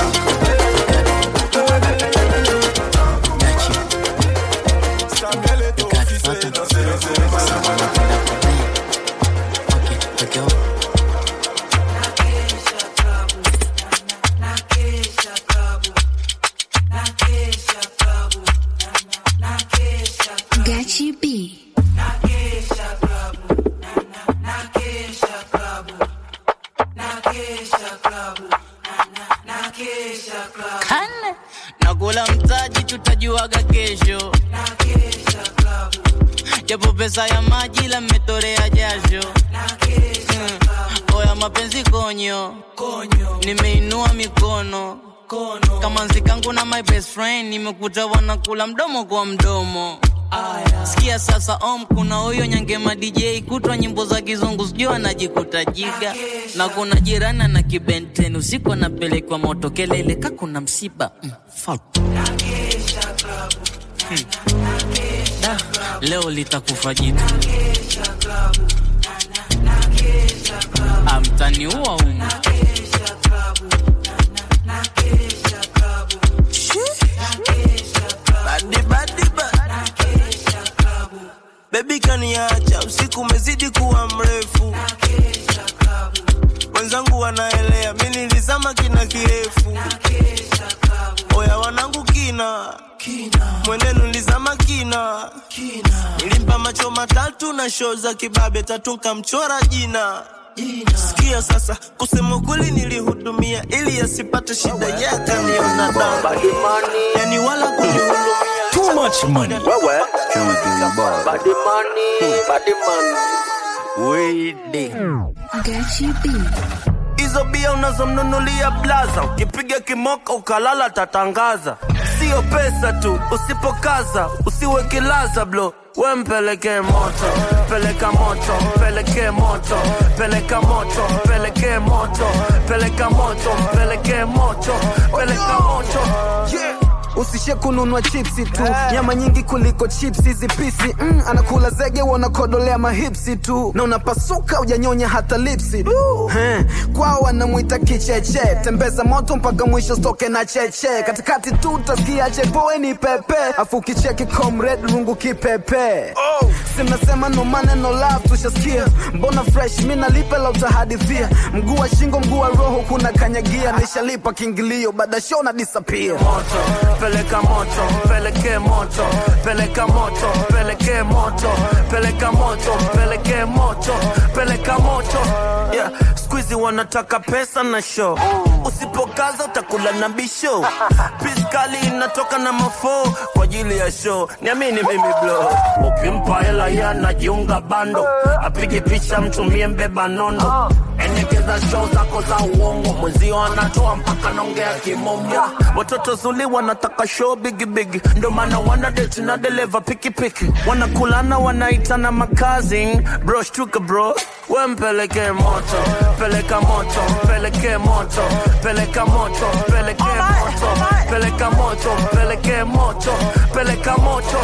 Gachi B. Kane nakula mtaji tutajuaga kesho, japo pesa ya maji la mmetorea jasho. Hmm. Oya mapenzi konyo, nimeinua mikono kama nzikangu na my best friend, nimekuta wanakula mdomo kwa mdomo. Sikia sasa om, kuna huyo Nyangema D J kutwa nyimbo za kizungu sijui anajikuta jiga. Na kuna jirani na kibenten usiku anapelekwa moto kelele ka kuna msiba. Mm, fuck. Hmm. Da, leo litakufa jitu. Amtani uwa umu. Badi badi badi baby kaniacha usiku umezidi kuwa mrefu. Wenzangu wanaelea mimi nilizama kina kirefu. Oya wanangu kina mwenenu nilizama kina. Nilimpa macho matatu na show za kibabe tatu kamchora jina. Sikia sasa kusema kweli nilihudumia ili asipate shida yake niona dawa. Yani wala kunihudumia too much money. Wewe body money, body money. Wait Gachi B. Hizo bia unazomnunulia blaza, ukipiga kimoka ukalala tatangaza. Sio pesa tu, usipokaza, usiwe kilaza blo. We mpeleke moto, peleka moto, peleke moto, peleka moto, peleke moto, peleka moto, peleke moto, peleka moto. Yeah. Usishe kununua chipsi tu, nyama nyingi kuliko chipsi hizi pisi. Mm, anakula zege wanakodolea mahipsi tu, na unapasuka ujanyonya hata lipsi. He, kwao wanamuita kicheche, tembeza moto mpaka mwisho stoke na cheche. Katikati tu utasikia chepoe ni pepe, afu kicheki comrade rungu kipepe. Oh. Simnasema no money no love tushasikia, mbona fresh mina lipe la utahadithia. Mguu wa shingo mguu wa roho kuna kanyagia, nishalipa kiingilio baada show na disappear. Moto. Peleka moto, peleke moto, peleka moto, peleke moto, peleka moto, peleke moto, peleka moto. Yeah, squeezy wanataka pesa na show. Usipokaza utakula na bisho. Piskali inatoka na mafo kwa ajili ya show. Niamini mimi blow. Ukimpa hela ya najiunga bando, apige picha mtumie mbeba nondo. Endekeza show zako za uongo, mwezio anatoa mpaka naongea kimomo. Watoto zuli wanataka show bigi bigi, ndo maana wana date na deliver piki piki. Wanakulana wanaitana makazi, bro shtuka bro. We mpeleke moto, peleka moto, peleke moto, peleka moto, peleke moto, peleka moto, peleke moto, peleka moto.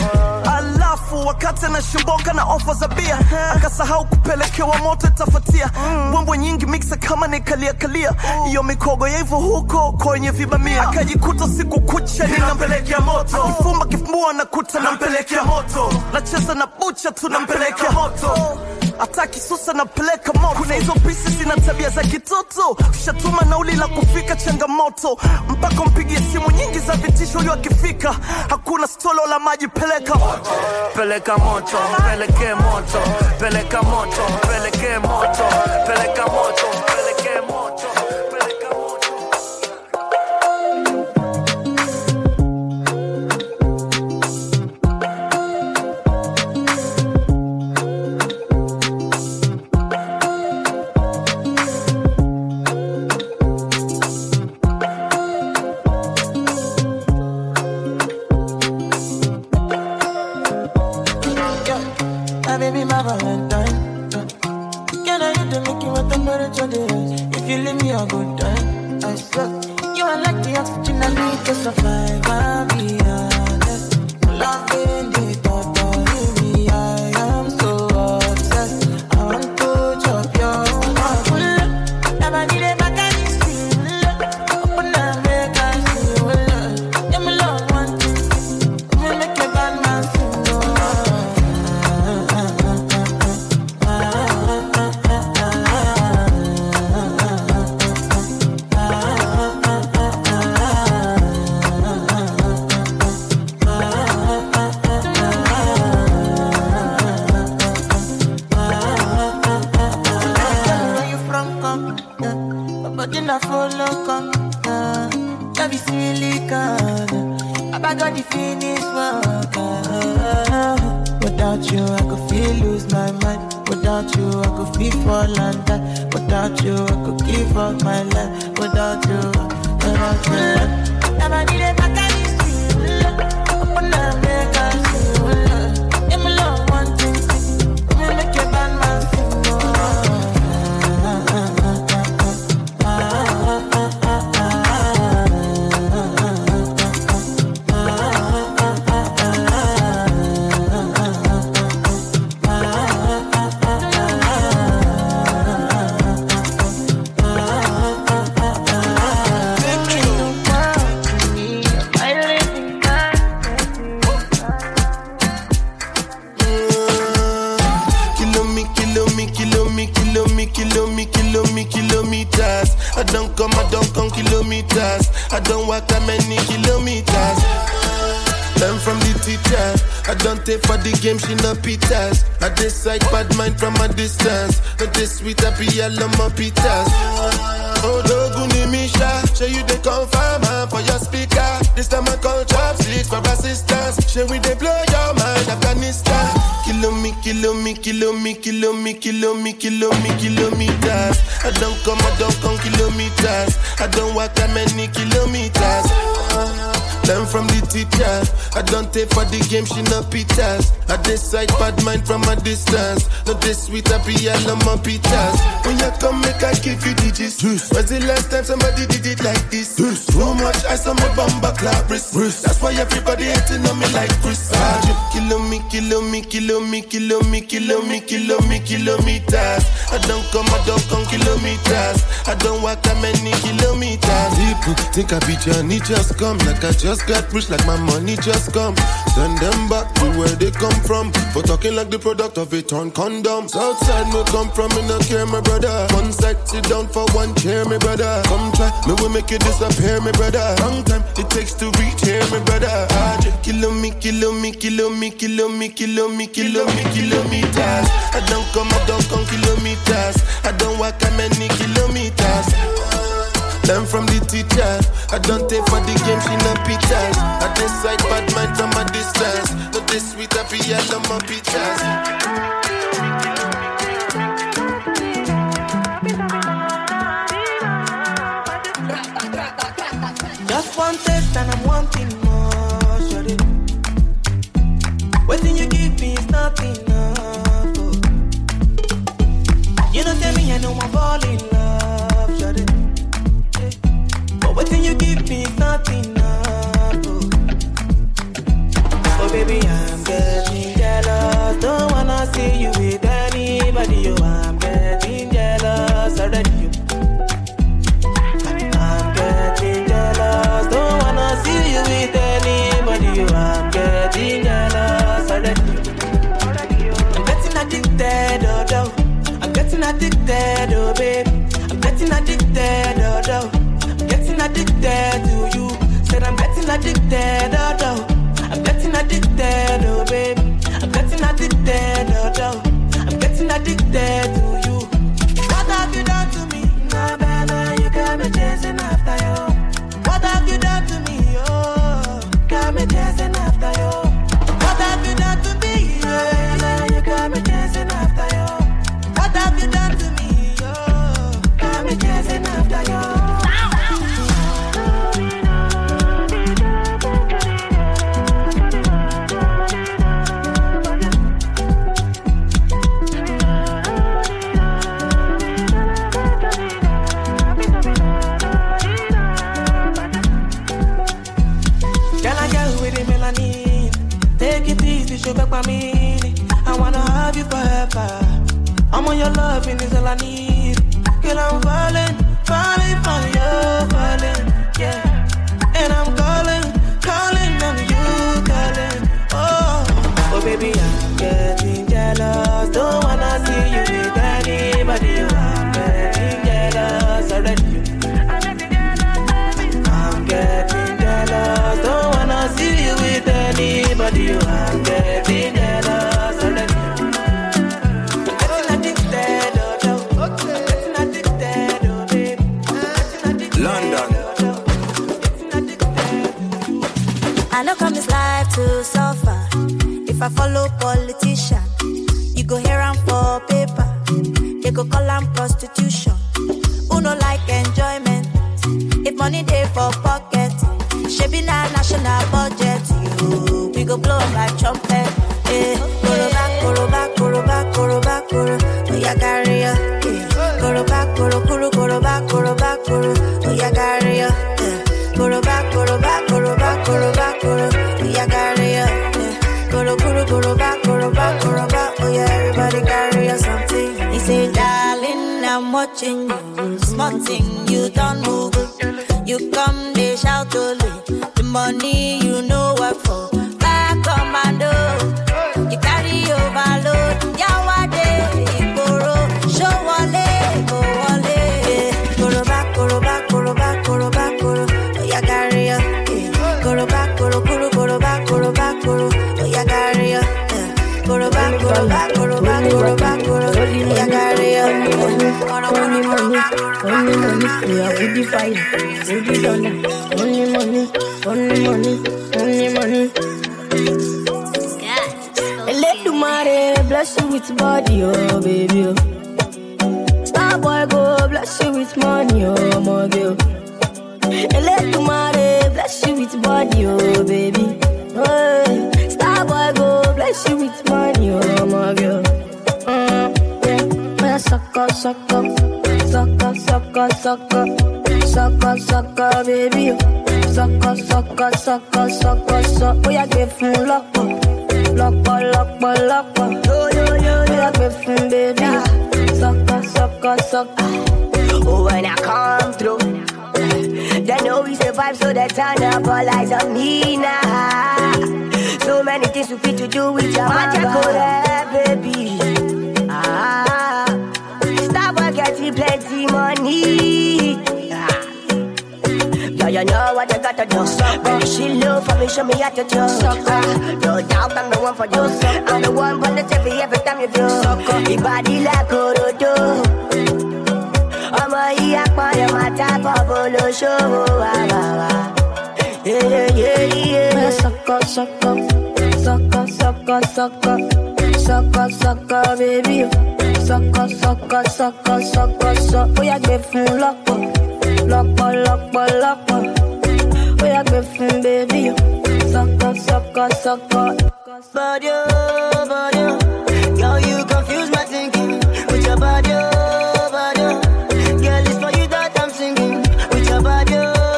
Alafu wakati na shimboka na offer za bia, akasahau kupelekewa moto tafatia. Mbwembwe nyingi mixa kama nikalia kalia, iyo mikogo ya hivyo huko kwenye vibamia. Akajikuta siku kucha ninampelekea moto, akifumba kifumbua nakuta nampelekea moto. Nacheza na bucha tu nampelekea moto, ataki susa na peleka moto. Kuna hizo pieces zina tabia za kitoto, ushatuma nauli la kufika changamoto. Mpaka mpigie simu nyingi za vitisho huyo akifika. Hakuna stolo la maji peleka moto, peleka moto, peleke moto, peleka moto, peleke moto, peleka moto, peleke moto, peleka moto. Baby, my Valentine. Can I hit the Mickey with the temperature days? If you leave me a good time, I swear. You are like the oxygen I need to survive. I'll be honest. Loving the thought of you, I am so obsessed. I want to chop your heart. Never need a back and it's open up, make I see you love. Yeah, me love one thing. Me make a bad man sing. could feel lose my mind. Without you, I could feel fall and die. Without you, I could give up my life. Without you, without you. Never need a back and it's you. Open up, make us you. I'm alone, one thing. We make your band man sing. I don't come, I don't come kilometers. I don't walk that many kilometers. Learn from the teacher. I don't take for the game, she no pitas. I decide bad mind from a distance. Not this sweet, I be all on my pitas. Oh, Doguni Misha, show you the confirm for your speaker. This time I call chopsticks for assistance. Show we they blow your mind, Afghanistan. Kilo me, kilo me, kilo me, kilo me, kilo me, kilo me, kilometers. I don't come, I don't come kilometers. I don't walk that many kilometers. Learn from the teacher. I don't take for the game, she no pitas. I decide bad mind from a distance. Not this sweet, I be all on my pitas. When you come, make I give you digits. When's the last time somebody did it like this? Too much ice on my bumper clap wrist. That's why everybody hating on me like Chris. Kilo me, kilo me, kilo me, kilo me, kilo me, kilo me, kilometers. I don't come, I don't come kilometers. I don't walk that many kilometers. People think I be Johnny, just come. Like I just got rich, like my money just come. Send them back to where they come from. For talking like the product of a torn condom. Southside me come from, me no care, my brother. One side, sit down for one chair, my brother. Come try, me will make you disappear, my brother. Long time it takes to reach here, my brother. Kilo me, kilo me, kilo me, kilo me, kilo me, kilo me, kilometers. I don't come, I don't come kilometers. I don't walk that many kilometers. Learn from the teacher. I don't take for the game, she no pitas. I decide bad mind from a distance. Not this sweet, I be all on my pitas. Just one taste and I'm wanting more, shorty. Waiting you give me is not enough. Oh. You don't tell me I know I'm falling in love, shorty. But waiting you give me is not enough. Oh. Oh baby, I'm getting jealous. Don't wanna see you with anybody. Oh, I'm getting jealous already. I'm getting jealous. Don't wanna see you with anybody. Oh, I'm getting jealous already. I'm getting addicted, oh, oh. I'm getting addicted, oh babe. I'm getting addicted, oh, oh. I'm getting addicted to you. Said I'm getting addicted, oh, oh. I'm getting addicted, oh babe. I'm getting addicted, oh, oh. I'm getting addicted to you. What have you done to me? Nah, better, you got me chasing after you. What have you done to me? Oh, got me chasing after you. What have you done to me? Yeah, you got me chasing after you. What have you done to me? Oh, got me chasing after you. Take it easy, show back my meaning. I wanna have you forever. I'm on your loving is all I need. Girl, I'm falling, falling for you, falling, yeah. And I'm calling, calling on you, calling. Oh, oh baby, I'm getting jealous. Don't wanna see you with anybody. I'm getting jealous already. I'm getting jealous. Don't wanna see you with anybody. I'm getting jealous already. I'm getting addicted, oh no. I'm getting addicted, oh babe. I'm getting money day for pocket. Shaping our national budget. You, we go blow like trumpet. Eh, koro back, koro back, koro back, koro back, koro. Oh yeah, carry ya. Eh, koro back, koro, koro, koro back, koro back, koro. Oh yeah, carry ya. Eh, koro back, koro back, koro back, koro back, koro. Oh yeah, carry ya. Eh, koro, koro, koro back, koro back, koro back. Oh yeah, everybody carry ya something. He say, darling, I'm watching you. Small thing, you don't move. You come, they shout only. The money you know what for. Back commando. You carry overload. Yawade, Ikoro. Show wale, go wale. Koro back, koro back, koro back, koro back, koro. Oh yeah, carry ya. Koro back, koro, koro, koro back, koro back, koro. Oh yeah, carry ya. Koro back, koro back, koro back, koro back, koro. Oh yeah, carry ya. Koro, koro, koro back, koro back, koro. We are with the fire, with the thunder. Only money, only money, only money. And let the money bless you with body, oh baby. Oh. Star boy go bless you with money, oh my girl. And let the money bless you with body, oh baby. Oh, star boy go bless you with money, oh my girl. Uh, yeah, man, suck up, suck up. Sucker, sucker, sucker, sucker, sucker, baby. Sucker, sucker, sucker, sucker, sucker. Oh, yeah, give him lock up, lock up, lock up, lock up. Yo, yo, yo, oh, yeah, give him, baby. Sucker, sucker, sucker. Oh, when I come through, they know we survive, so they turn up all eyes on me now. So many things we fit to do with your mother, baby. Ah. Getting plenty money. Ah. Yeah, you know what you gotta do. Baby, she love for me, show me how to do. Ah. No doubt I'm the one for you. I'm the one for the T V every time you do. Your body like Orodo. I'm a yak on my type of polo show. Yeah, yeah, yeah. Sucker, sucker, sucker, sucker, sucker, sucker, sucker, baby. Sucker, sucker, sucker, sucker, sucker. Oh, yeah, give him lock up, lock up, lock up, lock up. Oh, yeah, give him, baby. Sucker, sucker, sucker. Body, body, girl, you confuse my thinking with your body, body. Girl, it's for you that I'm singing with your body,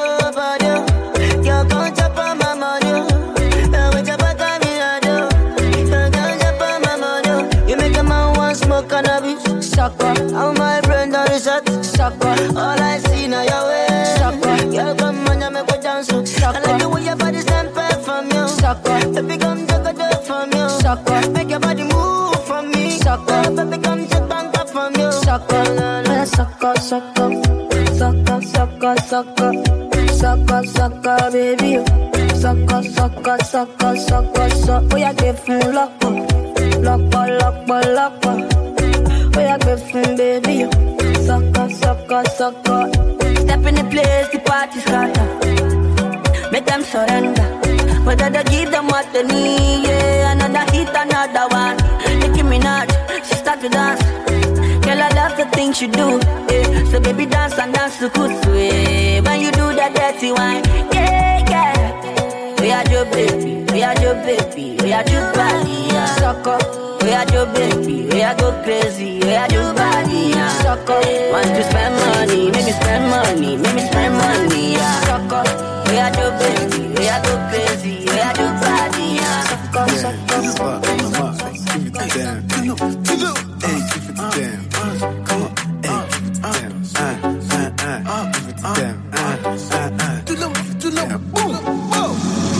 body. Girl, come chop on my money, with your body, I do. Girl, come chop on my money. You make a man want smoke cannabis. Sucker, how my friend on the shot. Sucker, all I see now your way. Sucker, girl, come on, you make me dance. Sucker, I like the way your body stand back from you. Sucker, baby, come take a dip from you. Sucker, make your body move from me. Sucker, baby, come take back up from you. Sucker, man, sucker, sucker, sucker, sucker, sucker, sucker, sucker, baby. Sucker, sucker, sucker, sucker, sucker. Oh, yeah, give him lock up, lock up, lock up, lock up. Oh, yeah, give him, baby. Sucker, sucker, sucker. Step in the place, the party starter. Make them surrender. But I give them what they need, yeah. Another hit, another one. Nicki Minaj, she start to dance. Girl, I love the things you do, yeah. So baby, dance and dance to kusu, yeah. When you do that dirty wine, yeah, yeah. We are your baby, we are your baby, we are your body, yeah. Sucker. We are your baby, we are go crazy, we are your body, yeah. Sucker, want to spend money, make me spend money, make me spend money, yeah. Sucker, we are your baby, we are go crazy, we are your body, yeah. Sucker, sucker, sucker. Give it to them, hey, give it to them. Come on, hey, give it to them. Uh, uh, uh, give it to them. Uh, uh, uh. Do them, do them, boom, boom.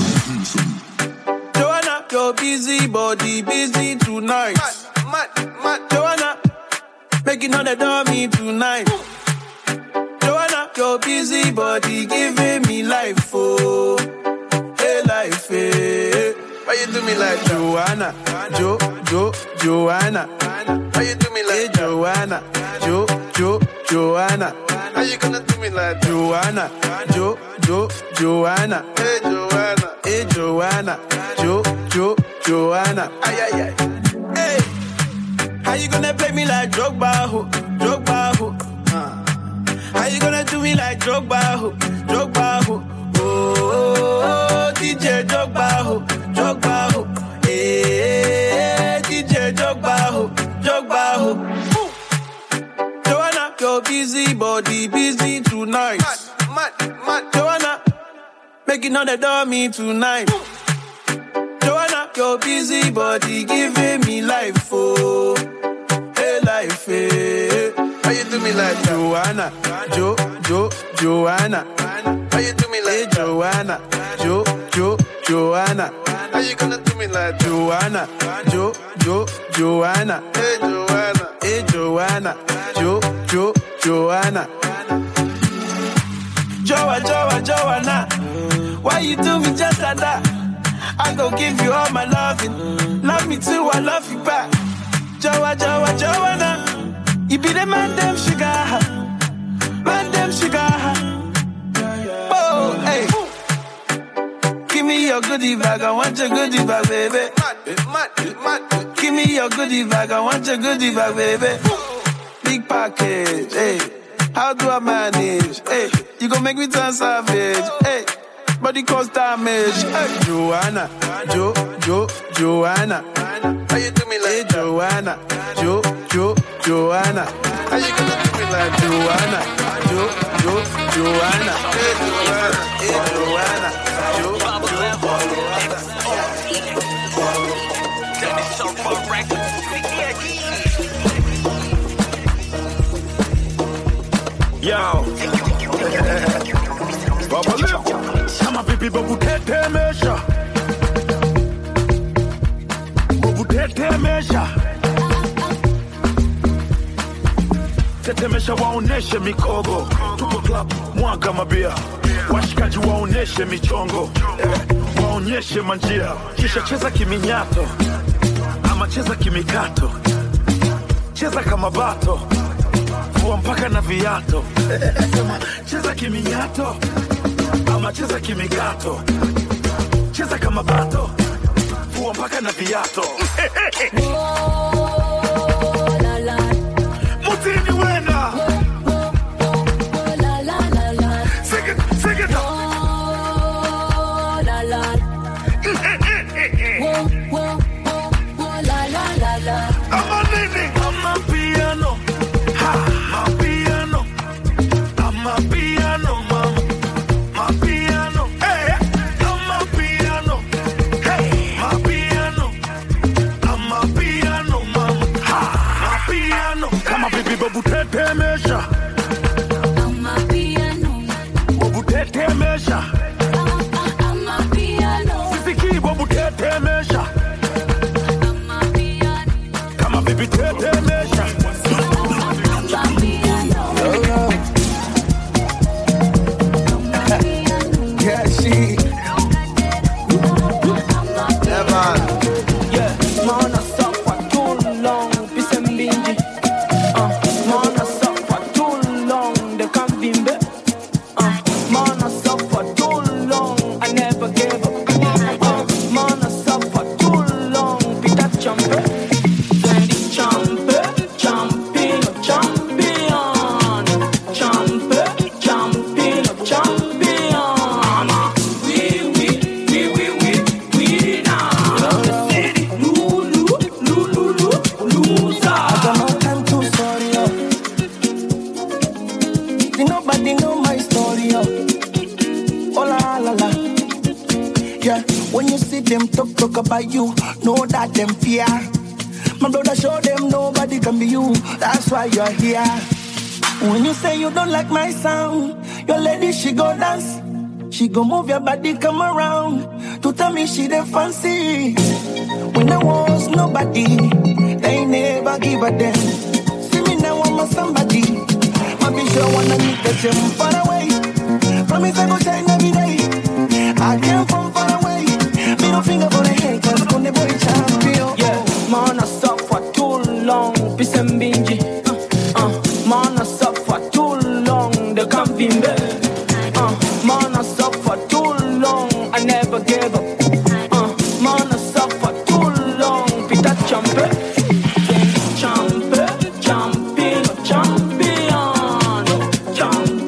Joanna, your busy body, busy tonight. Mad, mad, mad. Joanna, making all the dummy tonight. Joanna, your busy body, giving me life, oh, hey life, hey. Why you do me like Joanna, Jo, Jo, Joanna? Why you do me like hey, Joanna, Jo, Jo, Joanna? How you gonna do me like Joanna, Jo, Jo, Joanna? Hey Joanna, hey Joanna, Jo, Jo, Joanna. Ay ay ay. Hey, how you gonna play me like Drogba, ho, Drogba, ho? Uh. How you gonna do me like Drogba, ho, Drogba, ho? Oh, oh, oh, D J Drogba, ho, Drogba, ho. Hey, D J Drogba, ho, Drogba, ho. Joanna, your busy body busy tonight. Mad, mad, mad. Joanna, making all the dummy tonight. Joanna, your busy body giving me life, oh, hey life, hey. How you do me like Joanna, Jo, Jo, Joanna? How you do me like hey, Joanna, Jo, Jo, Joanna? How you gonna do me like Joanna, Jo, Jo, Joanna? Hey Joanna, hey Joanna, Jo, Jo, Joanna. Joa, Joa, Joanna, why you do me just like that? I gon' give you all my loving. Love me too, I love you back. Joa, Joa, Joanna, you be the man, damn sugar. Man, damn sugar. Oh, hey. Give me your goodie bag, I want your goodie bag, baby. Give me your goodie bag, I want your goodie bag, baby. Big package, hey. How do I manage? Hey, you gon' make me turn savage. Hey, body cause damage. Hey, Joanna, Jo, Jo, Joanna. How you do me like hey, Joanna, Jo, Jo, Joanna? How you gonna do me like Joanna, Jo, Jo, Joanna? Hey, Joanna, hey, Joanna, Jo, Jo, Joanna. Yo, Baba Leo, sama pipi babu tete mesha, babu tete mesha, tete mesha waoneshe mikogo, tupo club mwaga mabia, washikaji waoneshe michongo, waonyeshe manjia, kisha cheza kiminyato, ama cheza kimikato, cheza kama bato. Mpaka na viato. Cheza kiminyato ama cheza kimikato. Cheza kama bato. Fua mpaka na viato. Oh, la la. Mutini wena. Oh, la la la la. Sing it, sing it. Oh, la la. Oh, oh, oh, la la la la. I'm a nini, I'm a piano. Ha. Butete mesha, I'm a piano. Butete mesha, I'm a piano. Sisiki butete mesha, I'm a piano. Come on, baby, tete mesha, I'm a piano. Yeah, she. Yeah, man. Yeah, man, I suffer too long. Peace and bingy. About you, know that them fear. My brother show them nobody can be you. That's why you're here. When you say you don't like my sound, your lady she go dance, she go move your body come around to tell me she the fancy. When there was nobody, they never give a damn. See me now I'm a somebody. My bitch don't wanna meet the gym far away. Promise I go shine every day. I came from far away. Middle finger for the head, cause I'm the boy champion. Yeah, man, I suffer too long. Peace and bingy. Uh, uh, man, I suffer too long. They can't be me. Uh, man, I suffer too long. I never gave up. Uh, man, I suffer too long. Peter Champe. Champe, champion, champion. Champion.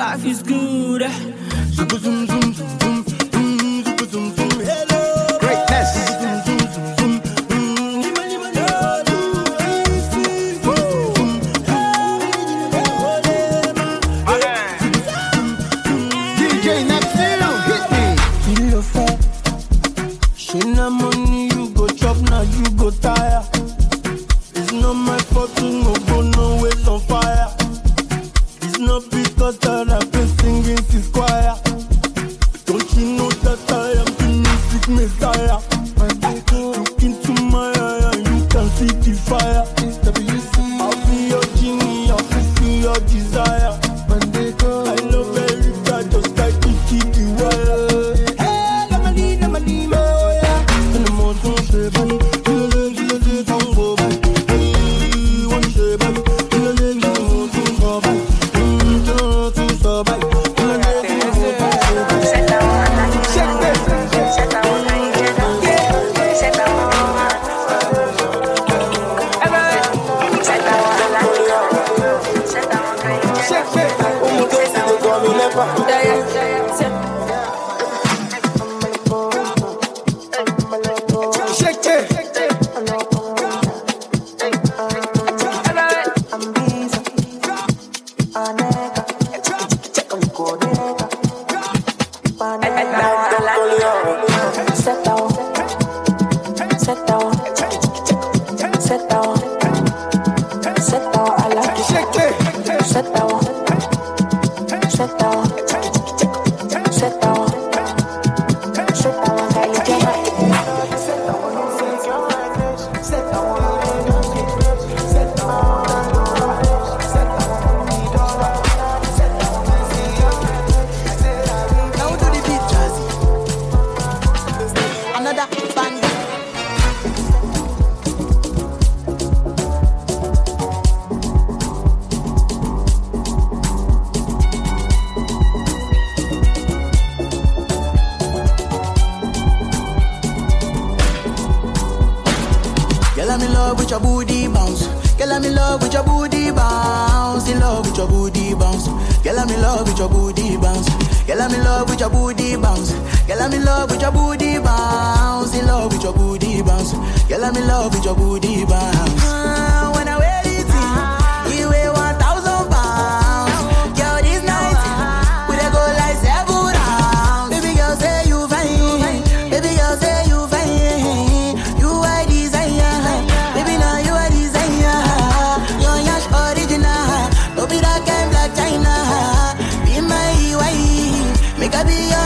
life is good. Zoom, zoom, zoom, zoom, zoom, zoom, zoom, zoom. Hello, greatness. D J Neptune, hit me. Feel your fat. She na money you go chop, now you go tire. It's not my fault to no go no ways on fire. It's not because that I've been singing this choir. Don't you know that I am the music messiah? Look into my eye and you can see the fire. I'll be your genie, I'll fulfill your desire. I love very bad, just like the keep the wire. Hey, Lamali, Lamali, oh yeah. And the mountain shape, and you let you let it go by. Hey, one shape, and you let you mountain go by. Hmm, don't you so by. You let it go by. Check this. Check that one. Yeah. Check that one. Check that one. Check that one. Check it. Oh my God, they call me never. Yeah, yeah, yeah. Shake it. Set down, set down, set down, set down. I like it. Shake it. Set down, set down, set down, set down. I like it. Set down, set down. Now do the beat, Jazzy. Another bang. Girl, I'm in love with your booty bounce. Girl, I'm in love with your booty bounce. In love with your booty bounce. Girl, I'm in love with your booty bounce. Girl, I'm in love with your booty bounce. Girl, I'm in love with your booty bounce. In love with your booty bounce. Girl, I'm in love with your booty bounce. Ah, when I wear it, you weigh one thousand pounds. Girl, this night we dey go like seven rounds. Baby girl, say you fine. Baby girl, say you fine. You are desire. Baby, now you are desire. You're yash original. Don't be that kind black China. Be my wife. Make I be your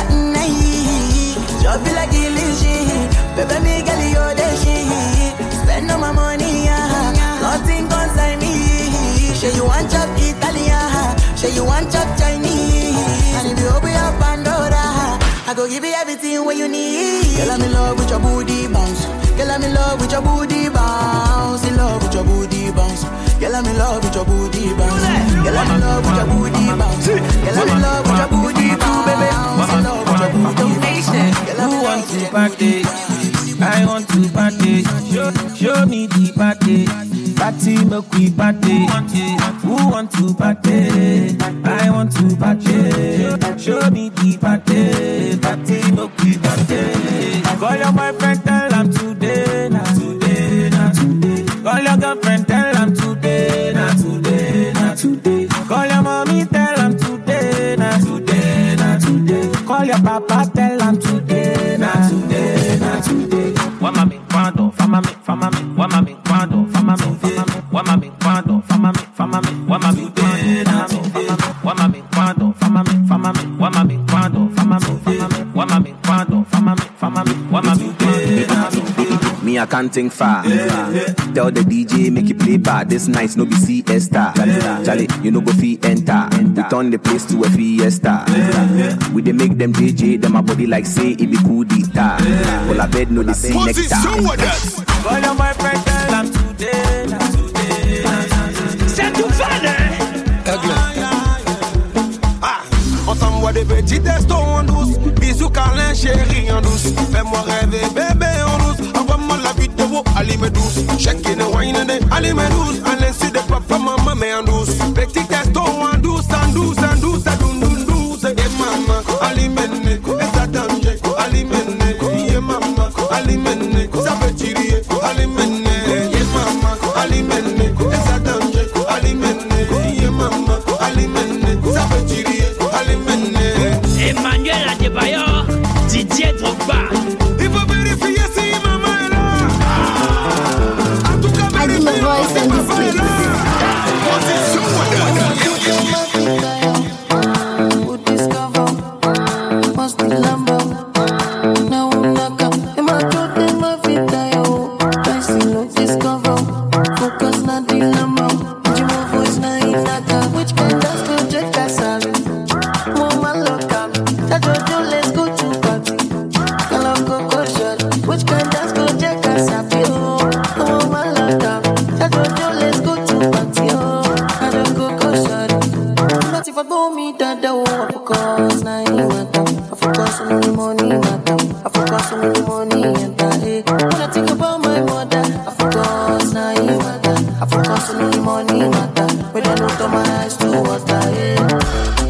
night. Just be like illusion. Baby, me girl, you're the shit. Spend all my money, yeah. Nothing concern me. Say you want chop Italian. Say you want chop Chinese. And if you open up Pandora, I go give you everything what you need. Girl, I'm in love with your booty bounce. Girl, I'm in love with your booty bounce. In love with your booty bounce. Girl, I'm in love with your booty bounce. Girl, I'm in love with your booty bounce. Girl, I'm in love with your booty bounce. Baby, in love with your booty bounce. Who wants to party? I want to party. Show, show me the party. Party, make we party. Who want to party? I want to party. Show me the party. Party, make we party. Call your boyfriend, tell him today, not today, not today. Call your girlfriend, tell him today, not today, not today. Call your mommy, tell him today, not today, not today. Call your papa, tell him today, not today, not today. Wama mi kwando, fama mi, fama mi. Wama mi kwando, fama mi, fama mi. Wama mi kwando, fama mi, fama mi. Wama mi kwando, fama mi, fama mi. Wama mi kwando, fama mi, fama mi. Wama mi kwando, fama mi, fama mi. Wama mi kwando, fama mi, fama mi. Wama mi kwando, fama mi. Me, I can't think far. Tell the D J, make it play bad. This night, no be siesta. Charlie, you know go fee enter. We turn the place to a fiesta. We dey make them J J, them a body like say it be cool guitar. All I bed no the see next time. Call your boyfriend, tell him today, not today, not today. C'est tout fade. Ensemble, des petits testos en douce. Bisous, câlin, chérie en douce. Fais-moi rêver, bébé en douce. Envoie-moi la vidéo, allumez douce. Check-in et wine, allumez douce. À l'insu de papa, maman, mais en douce. Petit testo en douce, en douce, en douce, en douce. alimene, esa danger, alimene, yeah mama, alimene, ça veut tirer, alimene, yeah mama, alimene, esa danger, alimene, yeah mama, alimene, ça veut tirer, alimene. Emmanuel Adebayor, Didier Drogba. Il faut vérifier si maman est là. En tout cas, vérifier si maman est là. Money matter, but I look at my eyes to water, yeah.